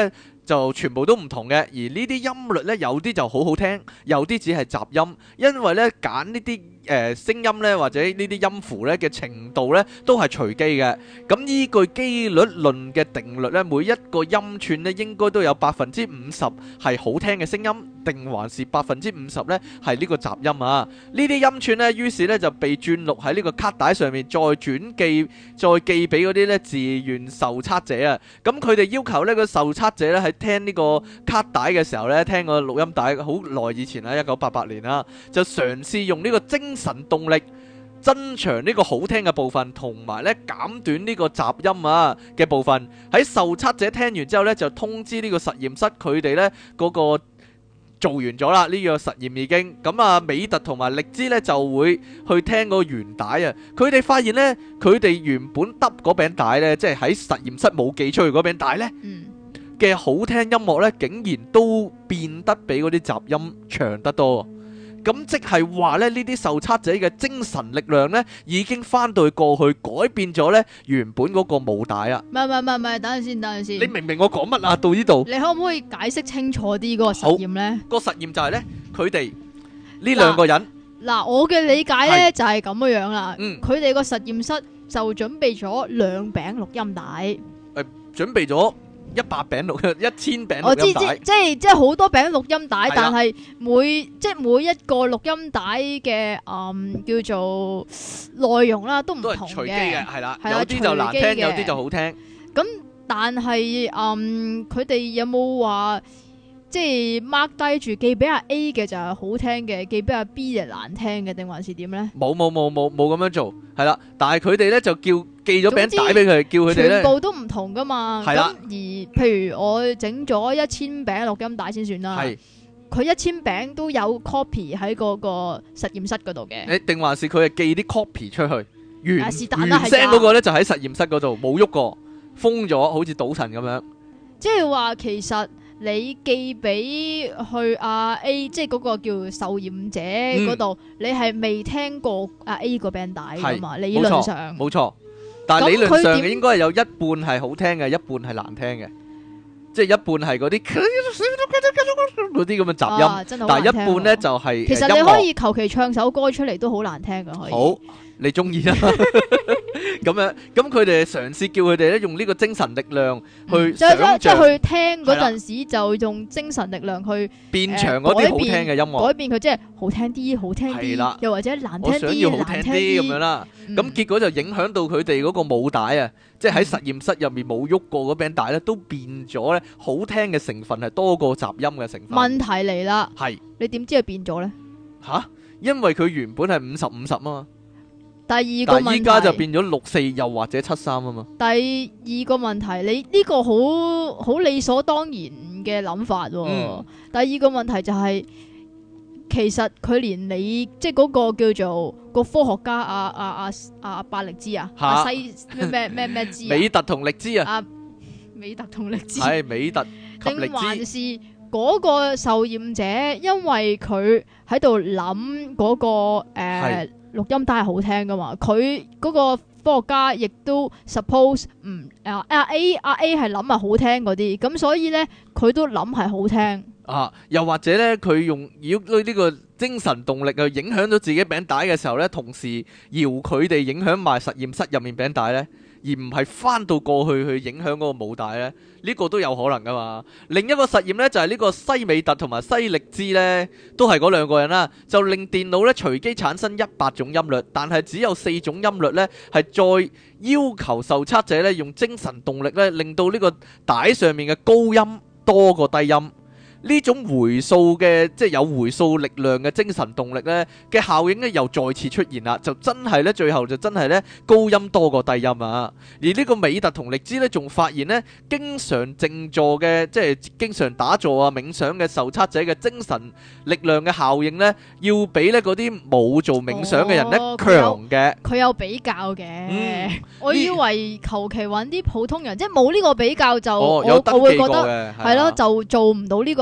就全部都唔同嘅，而呢啲音律呢，有啲就好好聽，有啲只係雜音，因為呢揀呢啲聲音呢，或者呢啲音符呢嘅程度呢，都係隨機嘅。咁依據機率論嘅定律呢，每一個音串呢應該都有50%係好聽嘅聲音，定還是50%呢係呢個雜音啊？呢啲音串呢，於是呢就被轉錄喺呢個卡帶上面，再寄俾嗰啲呢自願受測者啊。咁佢哋要求呢個受測者呢喺聽呢個卡帶嘅時候呢，聽個錄音帶好耐以前啦，1988年啦，就嘗試用呢個精神動力增長呢個好聽嘅部分，同埋咧減短呢個雜音啊嘅部分。喺受測者聽完之後咧，就通知呢個實驗室佢哋咧嗰個做完咗啦，呢個實驗已經咁啊。美特同埋力茲咧就會去聽嗰個原帶啊。佢哋發現咧，佢哋原本得嗰餅帶咧，即係喺實驗室冇寄出去嗰餅帶咧嘅好聽音樂咧，竟然都變得比嗰啲雜音長得多。咁即係話咧，呢啲受測者嘅精神力量咧，已經翻到去過去，改變咗咧原本嗰個母帶啊！ 唔係，等陣先。 你明唔明我講乜啊？到呢度， 你可唔可以解釋清楚啲嗰個實驗咧？ 個實驗就係咧，佢哋呢兩個人嗱，我嘅理解咧就係咁樣樣啦。佢哋個實驗室就準備咗2餅錄音帶， 準備咗100餅1000餅我知錄音帶， 即係好多餅錄音帶， 係啦但係每一個錄音帶嘅叫做內容啦，都唔都係同隨機嘅， 嘅。 係啦， 係啦有啲就難聽， 隨機嘅有啲就好聽。 咁但係佢哋有冇話即係 mark 低住寄俾阿 A 嘅就係好聽嘅，寄俾阿 B 就難聽嘅，定還是點咧？ 冇咁樣做，係啦。但係佢哋咧就寄咗餅帶俾佢，叫佢哋咧全部都唔同噶嘛。 係啦。 咁而譬如我整咗1000餅錄音帶先算啦。 係。 佢1000餅都有 copy 喺嗰個實驗室嗰度嘅。 誒，定還是佢係寄啲 copy 出去，原聲係嗰個咧就喺實驗室嗰度冇喐過，封咗，好似賭神咁樣。 即係話其實你寄俾去阿 A， 即係嗰個叫受驗者嗰度，你係未聽過阿 A 個餅帶噶嘛？理論上冇錯，但係理論上應該係有一半係好聽嘅，一半係難聽嘅，即係一半係嗰啲嗰啲咁嘅雜音，但係一半咧就係其實你可以求其唱首歌出嚟都好難聽噶，可以。 好，你中意啦。咁樣，咁佢哋嘗試叫佢哋咧用呢個精神力量去想像， 即係去聽嗰陣時就用精神力量去變長嗰啲好聽嘅音樂， 改變佢即係好聽啲，好聽啲，又或者難聽啲， 我想要好聽啲咁樣啦。咁結果就影響到佢哋嗰個母帶啊，即係喺實驗室入面冇喐過嗰餅帶咧，都變咗咧好聽嘅成分係多過雜音嘅成分。 問題嚟啦， 係你點知佢變咗咧？ 吓，因為佢原本係50-50啊嘛。 第二個問題，但係依家就變咗6-4又或者7-3啊嘛。 第二個問題，你呢個好理所當然嘅諗法喎。第二個問題就係，其實佢連你即係嗰個叫做個科學家阿伯力茲啊，阿西咩茲啊， 美特同力茲啊， 美特同力茲係美特及力茲，定還是嗰個受驗者因為佢喺度諗嗰個錄音帶係好聽噶嘛？佢嗰個科學家亦都 suppose 阿 A 係諗係好聽嗰啲，咁所以咧佢都諗係好聽啊。又或者咧，佢用呢個精神動力去影響到自己餅帶嘅時候咧，同時搖佢哋影響埋實驗室入面餅帶咧，而唔係翻到過去影響嗰個母帶咧，呢個都有可能噶嘛。另一個實驗咧就係呢個西美特同埋西力茲咧，都係嗰兩個人啦，就令電腦咧隨機產生100種音律，但係只有4種音律咧係再要求受測者咧用精神動力咧令到呢個帶上面嘅高音多過低音。呢種回溯嘅即係有回溯力量嘅精神動力呢嘅效應呢又再次出現啦，就真係呢最後就真係呢高音多過低音啊！而呢個美特同力茲呢仲發現呢，經常靜坐嘅即係經常打坐啊冥想嘅受測者嘅精神力量嘅效應呢，要比呢嗰啲冇做冥想嘅人呢強嘅。 佢有比較嘅，我以為求其揾啲普通人，即係冇呢個比較就我會覺得係咯，就做唔到呢個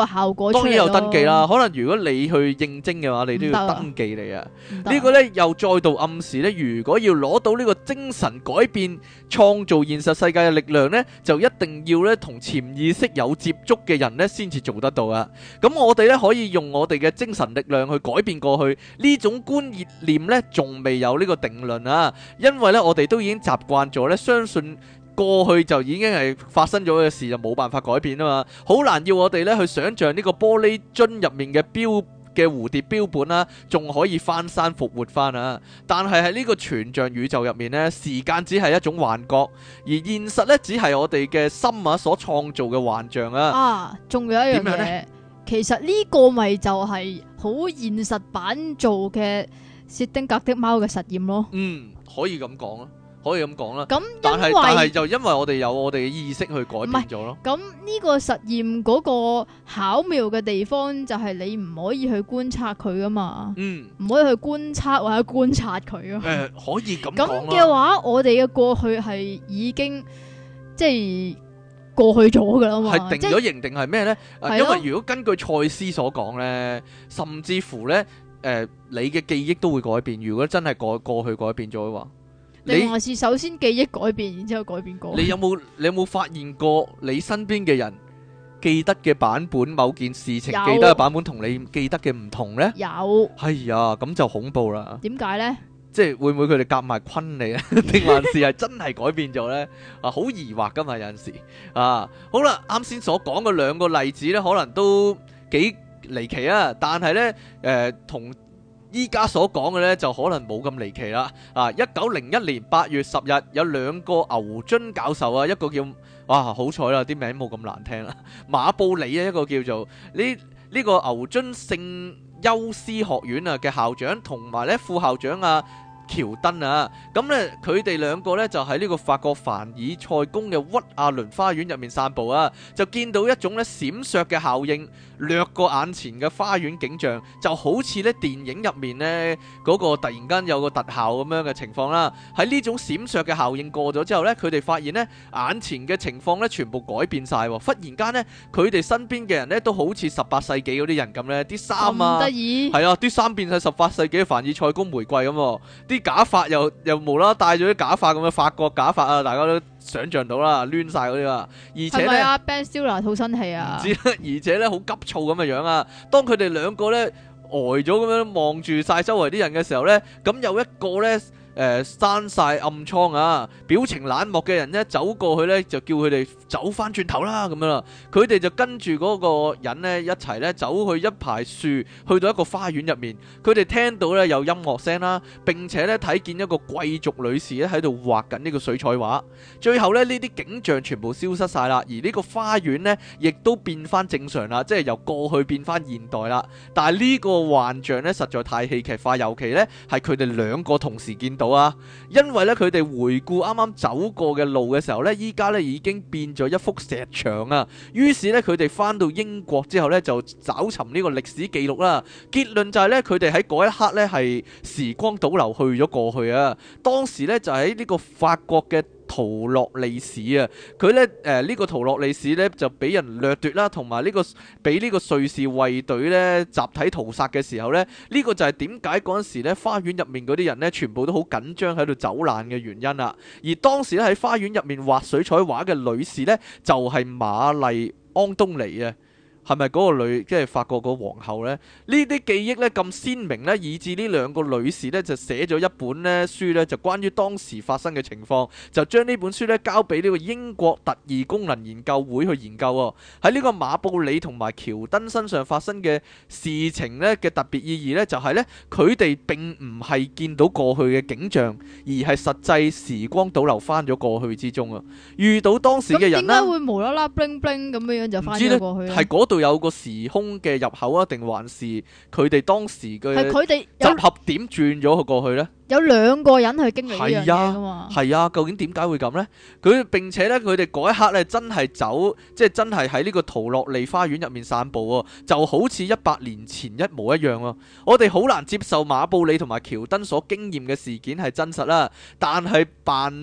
效果出嚟咯。 當然有登記啦，可能如果你去應徵嘅話，你都要登記你啊。呢個呢，又再度暗示呢，如果要攞到呢個精神改變、創造現實世界嘅力量呢，就一定要呢同潛意識有接觸嘅人呢先至做得到啊。咁我哋呢，可以用我哋嘅精神力量去改變過去，呢種觀念呢，仲未有呢個定論啊，因為呢，我哋都已經習慣咗呢，相信過去就已經係發生咗嘅事就冇辦法改變啊嘛，好難要我哋呢去想像呢個玻璃樽入面嘅蝴蝶標本啦，仲可以翻山復活翻啊！但係喺呢個全像宇宙入面呢，時間只係一種幻覺，而現實呢，只係我哋嘅心啊所創造嘅幻象啊！ 啊，仲有一樣嘢，其實呢個咪就係好現實版做嘅薛丁格的貓嘅實驗咯。 嗯，可以咁講啊。可以咁講啦， 但係就因為我哋有我哋嘅意識去改變咗咯。 咁呢個實驗嗰個巧妙嘅地方就係你唔可以去觀察佢噶嘛，唔可以去觀察或者觀察佢啊。 可以咁講。 咁嘅話，我哋嘅過去係已經即係過去咗噶啦嘛， 係定咗型定係咩呢？因為如果根據賽斯所講呢，甚至乎呢，你嘅記憶都會改變。如果真係過去改變咗嘅話。 你還是首先記憶改變，然之後改變過。 你有冇發現過你身邊嘅人記得嘅版本，某件事情記得嘅版本同你記得嘅唔同呢？有。係啊，咁就恐怖啦。 點解呢？ 即係會唔會佢哋夾埋昆你咧？定還是係真係改變咗呢？啊，好疑惑噶嘛，有陣時啊。好啦，啱先所講嘅兩個例子呢，可能都幾離奇啊。但係呢，同依家所講嘅呢，就可能冇咁離奇啦。啊，1901年8月10日有兩個牛津教授啊，一個叫好彩啦，啲名冇咁難聽啦，馬布里啊，一個叫做呢個牛津聖休斯學院啊嘅校長，同埋呢副校長啊喬登啊，咁呢，佢哋兩個呢，就喺呢個法國凡爾賽宮嘅屈亞倫花園入面散步啊，就見到一種呢閃爍嘅效應掠過眼前嘅花園景象，就好似呢電影入面呢嗰個突然間有個特效咁樣嘅情況啦。喺呢種閃爍嘅效應過咗之後呢，佢哋發現呢眼前嘅情況呢全部改變晒，忽然間呢，佢哋身邊嘅人呢都好似18世紀嗰啲人咁呢，啲衫啊，係啊，啲衫變晒18世紀嘅凡爾賽宮玫瑰咁，啲假髮又無啦啦戴咗啲假髮咁嘅法國假髮啊，大家都想象到啦，亂晒嗰啲啊，而且咧，係咪啊 Ben Stiller 套新戲啊？ 唔知，而且咧好急躁咁嘅樣啊！當佢哋兩個咧呆咗咁樣望住晒周圍啲人嘅時候咧，咁有一個咧生晒暗瘡啊，表情冷漠嘅人咧走過去咧就叫佢哋走翻轉頭啦咁樣啦，佢哋就跟住嗰個人咧一齊咧走去一排樹，去到一個花園入面，佢哋聽到咧有音樂聲啦，並且咧睇見一個貴族女士咧喺度畫緊呢個水彩畫，最後咧呢啲景象全部消失晒啦，而呢個花園咧亦都變翻正常啦，即係由過去變翻現代啦。但係呢個幻象咧實在太戲劇化，尤其咧係佢哋兩個同時見到啊，因為咧佢哋回顧啱啱走過嘅路嘅時候咧，依家咧已經變咗一幅石牆啊。於是咧佢哋翻到英國之後咧就找尋呢個歷史記錄啦。結論就係咧佢哋喺嗰一刻咧係時光倒流去咗過去啊。當時咧就喺呢個法國嘅圖洛利市啊，佢咧呢個圖洛利市咧就俾人掠奪啦，同埋呢個俾呢個瑞士衛隊咧集體屠殺嘅時候咧，呢個就係點解嗰陣時咧花園入面嗰啲人咧全部都好緊張喺度走難嘅原因啦。而當時咧喺花園入面畫水彩畫嘅女士咧就係瑪麗安東尼啊。係咪嗰個女即係法國個皇后呢？呢啲記憶呢咁鮮明呢，以致呢兩個女士呢就寫咗一本呢書呢，就關於當時發生嘅情況，就將呢本書呢交俾呢個英國特異功能研究會去研究喎。喺呢個馬布里同埋喬登身上發生嘅事情呢嘅特別意義呢，就係呢佢哋並唔係見到過去嘅景象，而係實際時光倒流翻咗過去之中啊！遇到當時嘅人呢， 點解會無啦啦 bling bling 咁樣就翻咗過去呢？ 係嗰度有個時空嘅入口啊，定還是佢哋當時嘅係佢哋集合點轉咗過去呢？ 有兩個人去經歷呢樣嘢㗎嘛？ 係啊，究竟點解會咁呢？並且呢，佢哋嗰一刻咧真係走，即係真係喺呢個圖洛利花園入面散步喎，就好似100年前一模一樣喎。我哋好難接受馬布里同埋喬登所經驗嘅事件係真實啦，但係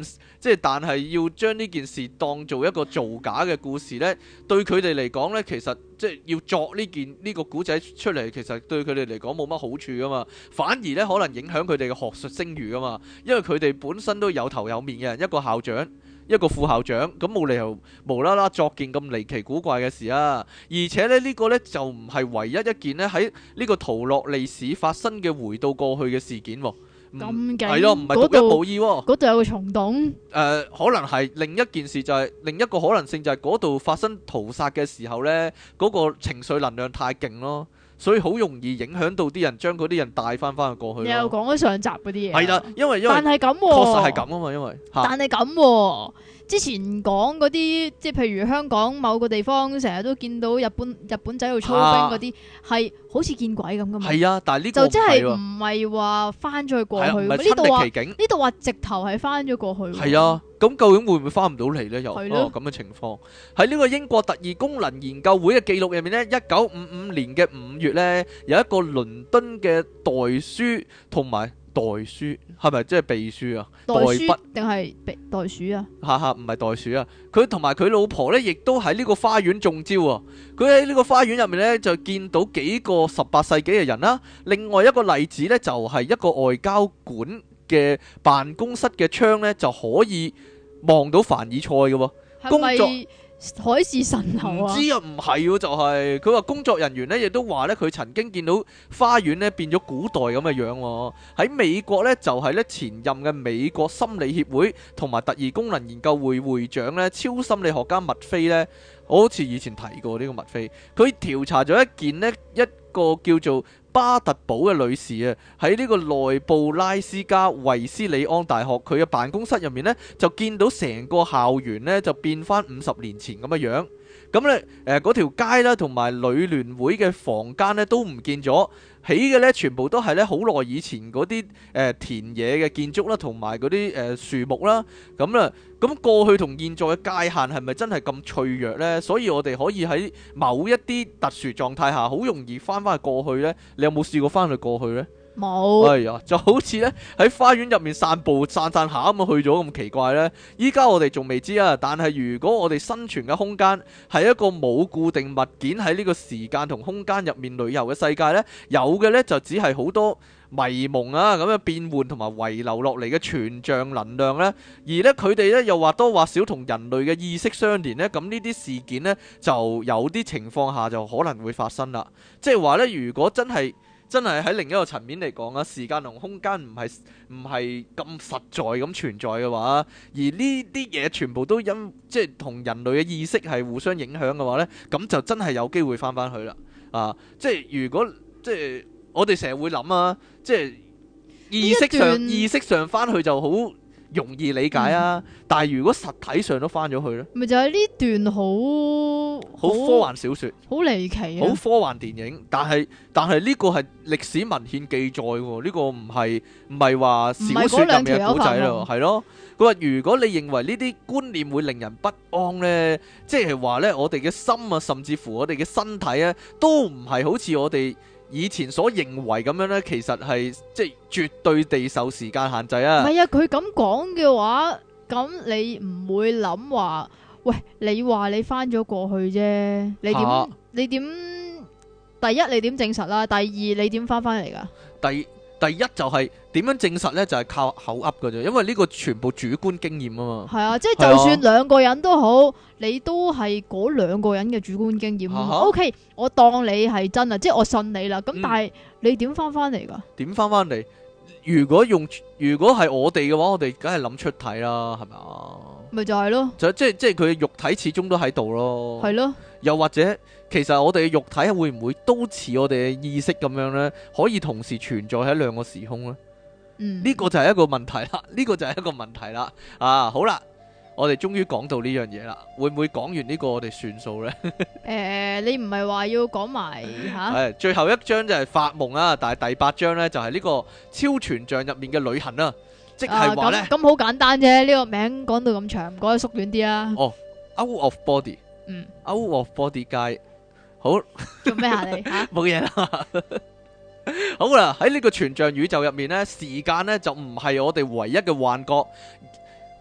即係但係要將呢件事當做一個造假嘅故事呢，對佢哋嚟講呢，其實即係要作呢個古仔出嚟，其實對佢哋嚟講冇乜好處噶嘛，反而呢可能影響佢哋嘅學術聲譽噶嘛，因為佢哋本身都有頭有面嘅，一個校長一個副校長，咁冇理由無啦啦作件咁離奇古怪嘅事啊！而且呢，呢個呢就唔係唯一一件呢喺呢個圖洛利市發生嘅回到過去嘅事件喎。 咁勁係咯，唔係獨一無二喎。 嗰度有個蟲洞。 可能係另一件事，就係另一個可能性，就係嗰度發生屠殺嘅時候呢，嗰個情緒能量太勁咯，所以好容易影響到啲人，將嗰啲人帶翻去過去。 你又講咗上集嗰啲嘢。 係啦，因為但係咁， 確實係咁啊嘛，因為但係咁，之前講嗰啲，即係譬如香港某個地方成日都見到日本仔去操兵嗰啲，係好似見鬼咁噶嘛。 係啊，但係呢個就真係唔係話翻咗去過去，呢度話直頭係翻咗過去。 係啊，咁究竟會唔會翻唔到嚟呢？又咁嘅情況喺呢個英國特異功能研究會嘅記錄入面呢，1955年嘅5月呢，有一個倫敦嘅代書同埋。代書係咪即係秘書啊？ 代書定係袋鼠啊？ 唔係袋鼠啊！佢同埋佢老婆呢，亦都喺呢個花園中招啊！佢喺呢個花園入面呢，就見到幾個18世紀嘅人啦。另外一個例子呢，就係一個外交館嘅辦公室嘅窗呢，就可以望到凡爾賽嘅喎。工作海市蜃樓啊？ 唔知啊，唔係喎，就係佢話工作人員呢亦都話呢，佢曾經見到花園呢變咗古代咁嘅樣喎。喺美國呢，就係呢前任嘅美國心理協會同埋特異功能研究會會長呢，超心理學家麥菲呢，我好似以前提過呢個麥菲，佢調查咗一件呢，一個叫做巴特堡嘅女士啊，喺呢個內布拉斯加維斯里安大學佢嘅辦公室入面呢，就見到成個校園呢，就變翻50年前咁嘅樣。咁咧嗰條街啦，同埋女聯會嘅房間呢，都唔見咗，起嘅呢，全部都係呢好耐以前嗰啲田野嘅建築啦，同埋嗰啲樹木啦。咁過去同現在嘅界限係咪真係咁脆弱呢？所以我哋可以喺某一啲特殊狀態下，好容易翻去過去呢？你有冇試過翻去過去呢？ 冇。 哎呀，就好似咧喺花園入面散步散下咁去咗，咁奇怪呢。依家我哋仲未知啊，但係如果我哋生存嘅空間係一個冇固定物件喺呢個時間同空間入面旅遊嘅世界呢，有嘅呢就只係好多迷蒙啊咁樣變換同埋遺留落嚟嘅全像能量呢。而呢，佢哋呢又或多或少同人類嘅意識相連呢。咁呢啲事件呢，就有啲情況下就可能會發生啦。即係話呢，如果真係喺另一個層面嚟講啊，時間同空間唔係咁實在咁存在嘅話，而呢啲嘢全部都即係同人類嘅意識係互相影響嘅話呢，咁就真係有機會翻去啦。即係如果即係我哋成日會諗啊，即係意識上翻去就好容易理解啊，但係如果實體上都翻咗去呢， 咪就係呢段好科幻小說， 好離奇啊， 好科幻電影。但係呢個係歷史文獻記載喎，呢個唔係話小說咁嘅古仔咯，係咯。佢話如果你認為呢啲觀念會令人不安呢，即係話呢，我哋嘅心啊，甚至乎我哋嘅身體啊，都唔係好似我哋以前所認為咁樣呢，其實係即係絕對地受時間限制啊！唔係啊， 佢咁講嘅話，咁你唔會諗話，喂，你話你翻咗過去啫，你點？第一你點證實啦？第二你點翻嚟噶？ 第一就係點樣證實呢？就係靠口噏㗎啫，因為呢個全部主觀經驗啊嘛。係啊， 即係就算兩個人都好，你都係嗰兩個人嘅主觀經驗。OK， 我當你係真啊，即係我信你啦。咁但係你點翻嚟㗎？點翻嚟？如果係我哋嘅話，我哋梗係諗出體啦，係咪啊？咪就係咯。即係佢嘅肉體始終都喺度咯。係咯。又或者，其實我哋嘅肉體會唔會都似我哋嘅意識咁樣呢？可以同時存在喺兩個時空呢？呢個就係一個問題啦。好啦，我哋終於講到呢樣嘢啦。會唔會講完呢個我哋算數呢？ 你唔係話要講埋吓？ 最後一章就係發夢啊，但係第8章呢，就係呢個超全像入面嘅旅行啦，即係話呢， 咁好簡單啫。呢個名講到咁長，唔該縮短啲啊。 Out of body。Out of body 界，好做咩啊你？ 冇嘢啦。好啦，喺呢個全像宇宙入面呢，時間呢就唔係我哋唯一嘅幻覺，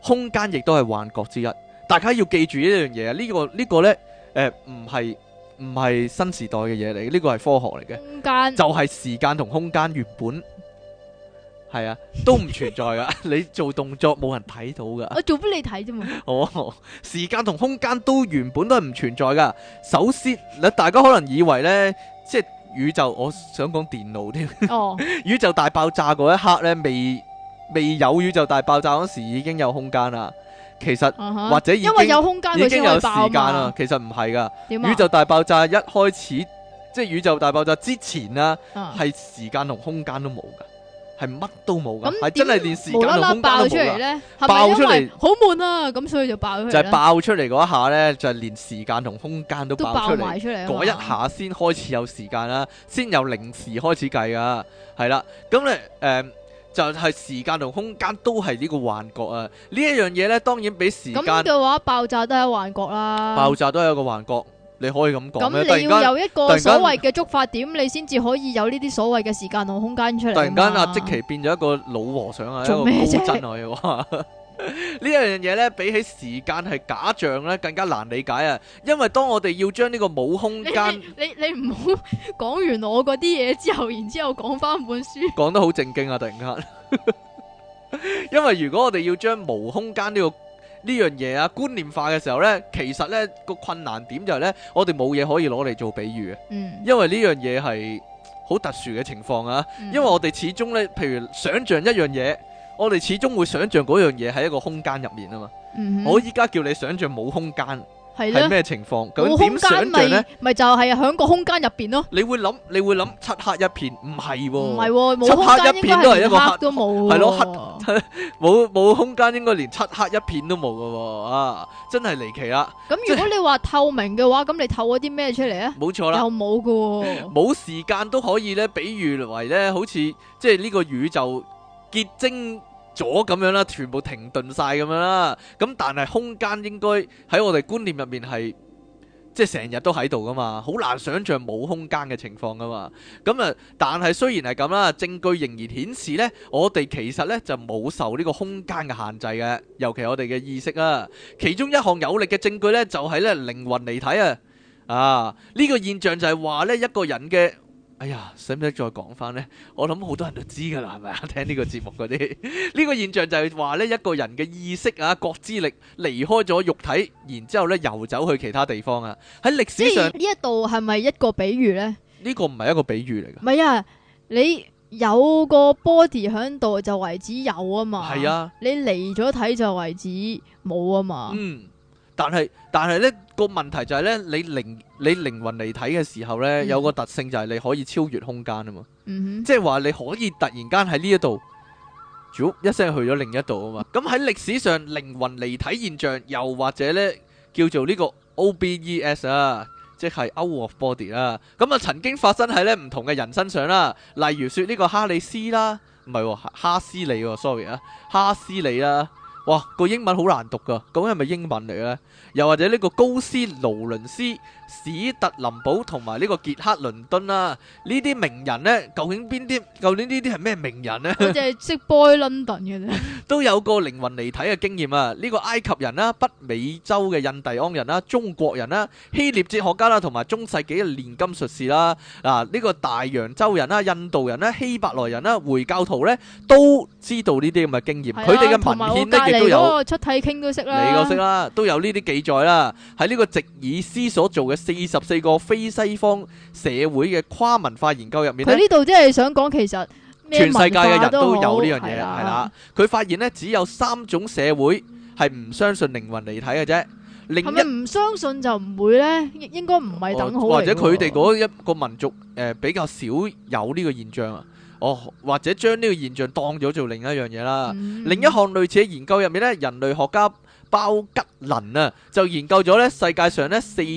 空間亦都係幻覺之一。大家要記住呢樣嘢啊！呢個呢，唔係新時代嘅嘢嚟，呢個係科學嚟嘅。 空間就係時間同空間原本係啊，都唔存在噶。你做動作冇人睇到噶。 我做俾你睇啫嘛。 哦，時間同空間都原本都係唔存在噶。首先，大家可能以為呢，即係宇宙，我想講電腦添。 哦， 宇宙大爆炸嗰一刻呢，未有宇宙大爆炸嗰時已經有空間啦。其實或者因為有空間已經有時間啦。其實唔係噶。宇宙大爆炸一開始，即係宇宙大爆炸之前啦，係時間同空間都冇噶，係乜都冇噶，係真係連時間同空間都冇噶。爆出嚟咧，爆出嚟好悶啊，咁所以就爆出嚟。就係爆出嚟嗰一下咧，就係連時間同空間都爆出嚟，嗰一下先開始有時間啦，先由零時開始計噶，係啦。咁咧就係時間同空間都係呢個幻覺啊！呢一樣嘢呢，當然比時間咁嘅話，爆炸都係幻覺啦。爆炸都係一個幻覺，你可以咁講。咁你要有一個所謂嘅觸發點，你先至可以有呢啲所謂嘅時間同空間出嚟。突然間阿即奇變咗一個老和尚啊，一個高僧啊，要話呢一樣嘢呢，比起時間係假象呢，更加難理解啊！因為當我哋要將呢個冇空間，你唔好講完我嗰啲嘢之後，然之後講翻本書，講得好正經啊！突然間，因為如果我哋要將無空間呢樣嘢啊觀念化嘅時候呢，其實呢個困難點就係呢，我哋冇嘢可以攞嚟做比喻啊！因為呢樣嘢係好特殊嘅情況啊！因為我哋始終呢，譬如想像一樣嘢。我哋始終會想像嗰樣嘢喺一個空間入面啊嘛。我依家叫你想像冇空間係咩情況？究竟點想像呢？咪就係喺個空間入邊咯。你會諗漆黑一片，唔係喎，唔係喎，漆黑一片都係一個黑都冇，係咯，黑冇空間應該連漆黑一片都冇㗎喎啊！真係離奇啦。咁如果你話透明嘅話，咁你透咗啲咩出嚟啊？冇錯啦，又冇㗎喎，冇時間都可以咧，比喻為咧，好似即係呢個宇宙結晶咗咁樣啦，全部停頓晒咁樣啦。咁但係空間應該喺我哋觀念入面係即係成日都喺度噶嘛，好難想像冇空間嘅情況噶嘛。咁啊，但係雖然係咁啦，證據仍然顯示呢，我哋其實呢就冇受呢個空間嘅限制嘅，尤其我哋嘅意識啊。其中一項有力嘅證據呢，就係呢靈魂離體啊。啊，呢個現象就係話呢一個人嘅。哎呀，使唔使再講翻呢？我諗好多人都知噶啦，係咪啊？聽呢個節目嗰啲，呢個現象就係話呢一個人嘅意識啊、覺知力離開咗肉體，然之後呢游走去其他地方啊。喺歷史上呢一度係咪一個比喻呢？呢個唔係一個比喻嚟噶。唔係啊，你有個 body 喺度就為止有啊嘛。係啊，你離咗體就為止冇啊嘛。嗯。但係咧個問題就係咧，你靈魂離體嘅時候咧，有個特性就係你可以超越空間啊嘛，即係話你可以突然間喺呢一度，一聲去咗另一度啊嘛。咁喺歷史上靈魂離體現象，又或者咧叫做呢個 OBES 啊，即係 out of body 啦。咁啊曾經發生喺咧唔同嘅人身上啦，例如說呢個哈里斯啦，唔係哈斯里，sorry 啊，哈斯里啦。哇，個英文好難讀噶，究竟係咪英文嚟呢？又或者呢個高斯勞倫斯、史特林堡同埋呢個傑克倫敦啦，呢啲名人呢，究竟呢啲係咩名人呢？我淨係識 Boy London 嘅啫。都有個靈魂離體嘅經驗啊！呢個埃及人啦、北美洲嘅印第安人啦、中國人啦、希臘哲學家啦，同埋中世紀嘅煉金術士啦，呢個大洋洲人啦、印度人啦、希伯來人啦、回教徒呢，都知道呢啲咁嘅經驗。佢哋嘅文獻呢，亦都有。出體傾都識啦，你個識啦，都有呢啲記載啦。喺呢個席爾斯所做嘅44個非西方社會嘅跨文化研究入面，佢呢度即係想講其實全世界嘅人都有呢樣嘢，係啦。佢發現呢，只有3種社會係唔相信靈魂離體嘅啫。係咪唔相信就唔會呢？應該唔係等好，或者佢哋嗰一個民族比較少有呢個現象啊。或者將呢個現象當咗做另一樣嘢啦。另一項類似嘅研究入面呢，人類學家鮑吉能啊，就研究咗呢世界上呢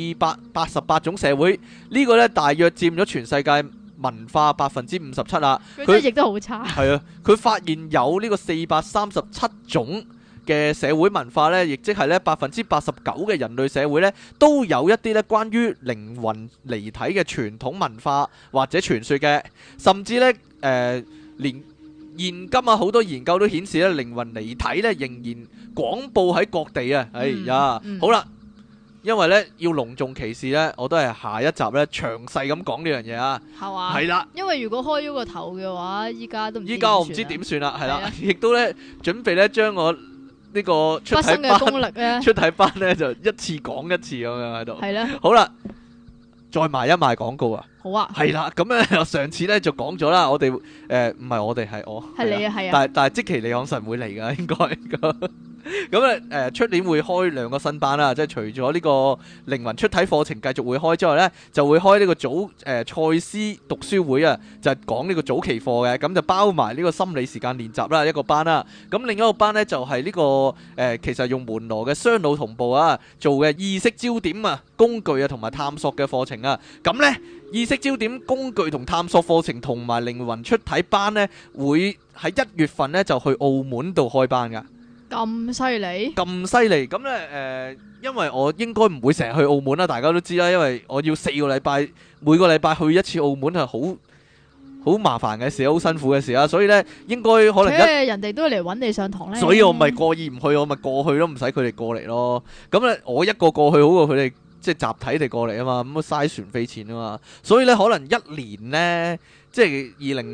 488種社會，呢個呢大約佔咗全世界文化57%啦。佢真係譯得好差。係啊，佢發現有呢個437種嘅社會文化呢，亦即係呢89%嘅人類社會呢，都有一啲呢關於靈魂離體嘅傳統文化或者傳說嘅，甚至呢連現今啊，好多研究都顯示咧，靈魂離體咧仍然廣佈喺各地啊。哎呀，好啦。因為咧要隆重其事咧，我都係下一集咧詳細咁講呢樣嘢啊。 係嘛？ 係啦。 因為如果開咗個頭嘅話，依家我唔知點算啦，係啦。亦都咧準備咧將我呢個出體班功力咧， 出體班咧就一次講一次咁樣喺度。 係啦。 好啦，再賣一賣廣告啊。 好啊。 係啦，咁咧上次咧就講咗啦，我哋唔係我哋係我。 係你啊，係啊。 但係即其利昂神會嚟㗎，應該。咁咧出年會開2個新班啦，即係除咗呢個靈魂出體課程繼續會開之外咧，就會開呢個賽斯讀書會啊，就係講呢個早期課嘅，咁就包埋呢個心理時間練習啦，一個班啦。咁另一個班咧就係呢個其實用門羅嘅雙腦同步啊做嘅意識焦點啊工具啊同埋探索嘅課程啊。咁咧意識焦點工具同探索課程同埋靈魂出體班咧會喺1月份咧就去澳門度開班噶。 咁犀利？咁犀利？咁咧因為我應該唔會成日去澳門啦，大家都知啦，因為我要4個禮拜，每個禮拜去一次澳門係好麻煩嘅事，好辛苦嘅事啦，所以咧應該可能人哋都嚟揾你上堂咧， 所以我咪過意唔去，我咪過去咯，唔使佢哋過嚟咯。咁咧我一個過去好過佢哋即係集體地過嚟啊嘛，咁嘥船費錢啊嘛，所以咧可能一年咧即係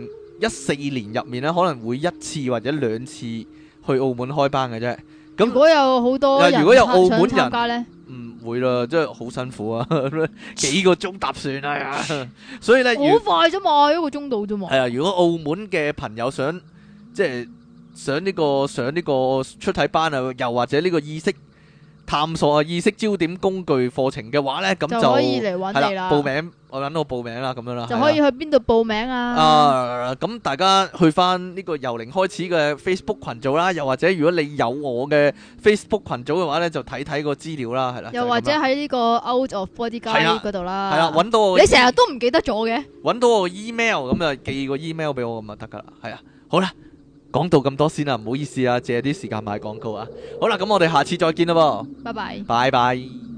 2014年入面咧可能會1次或者2次去澳門開班嘅啫。咁如果有好多人， 如果有澳門人參加咧， 唔會啦，即係好辛苦啊，幾個鐘搭船啊，所以咧好快啫嘛，1個鐘到啫嘛。 係啊，如果澳門嘅朋友想即係上呢個出體班啊，又或者呢個意識探索啊、意識焦點工具課程嘅話咧，咁就可以嚟揾你啦。 報名，我揾我報名啦，咁樣啦。 就可以去邊度報名啊？ 咁大家去翻呢個由零開始嘅 Facebook 群組啦，又或者如果你有我嘅 Facebook 群組嘅話咧，就睇睇個資料啦，係啦。 又或者喺呢個 Out of Body Guide 嗰度啦。 係啦，揾到我。 你成日都唔記得咗嘅。揾到我 email 咁就寄個 email 俾我咁就得噶啦。係啊，好啦。講到咁多先啦，唔好意思啊，借啲時間買廣告啊。好啦，咁我哋下次再見啦噃。 拜拜。 拜拜。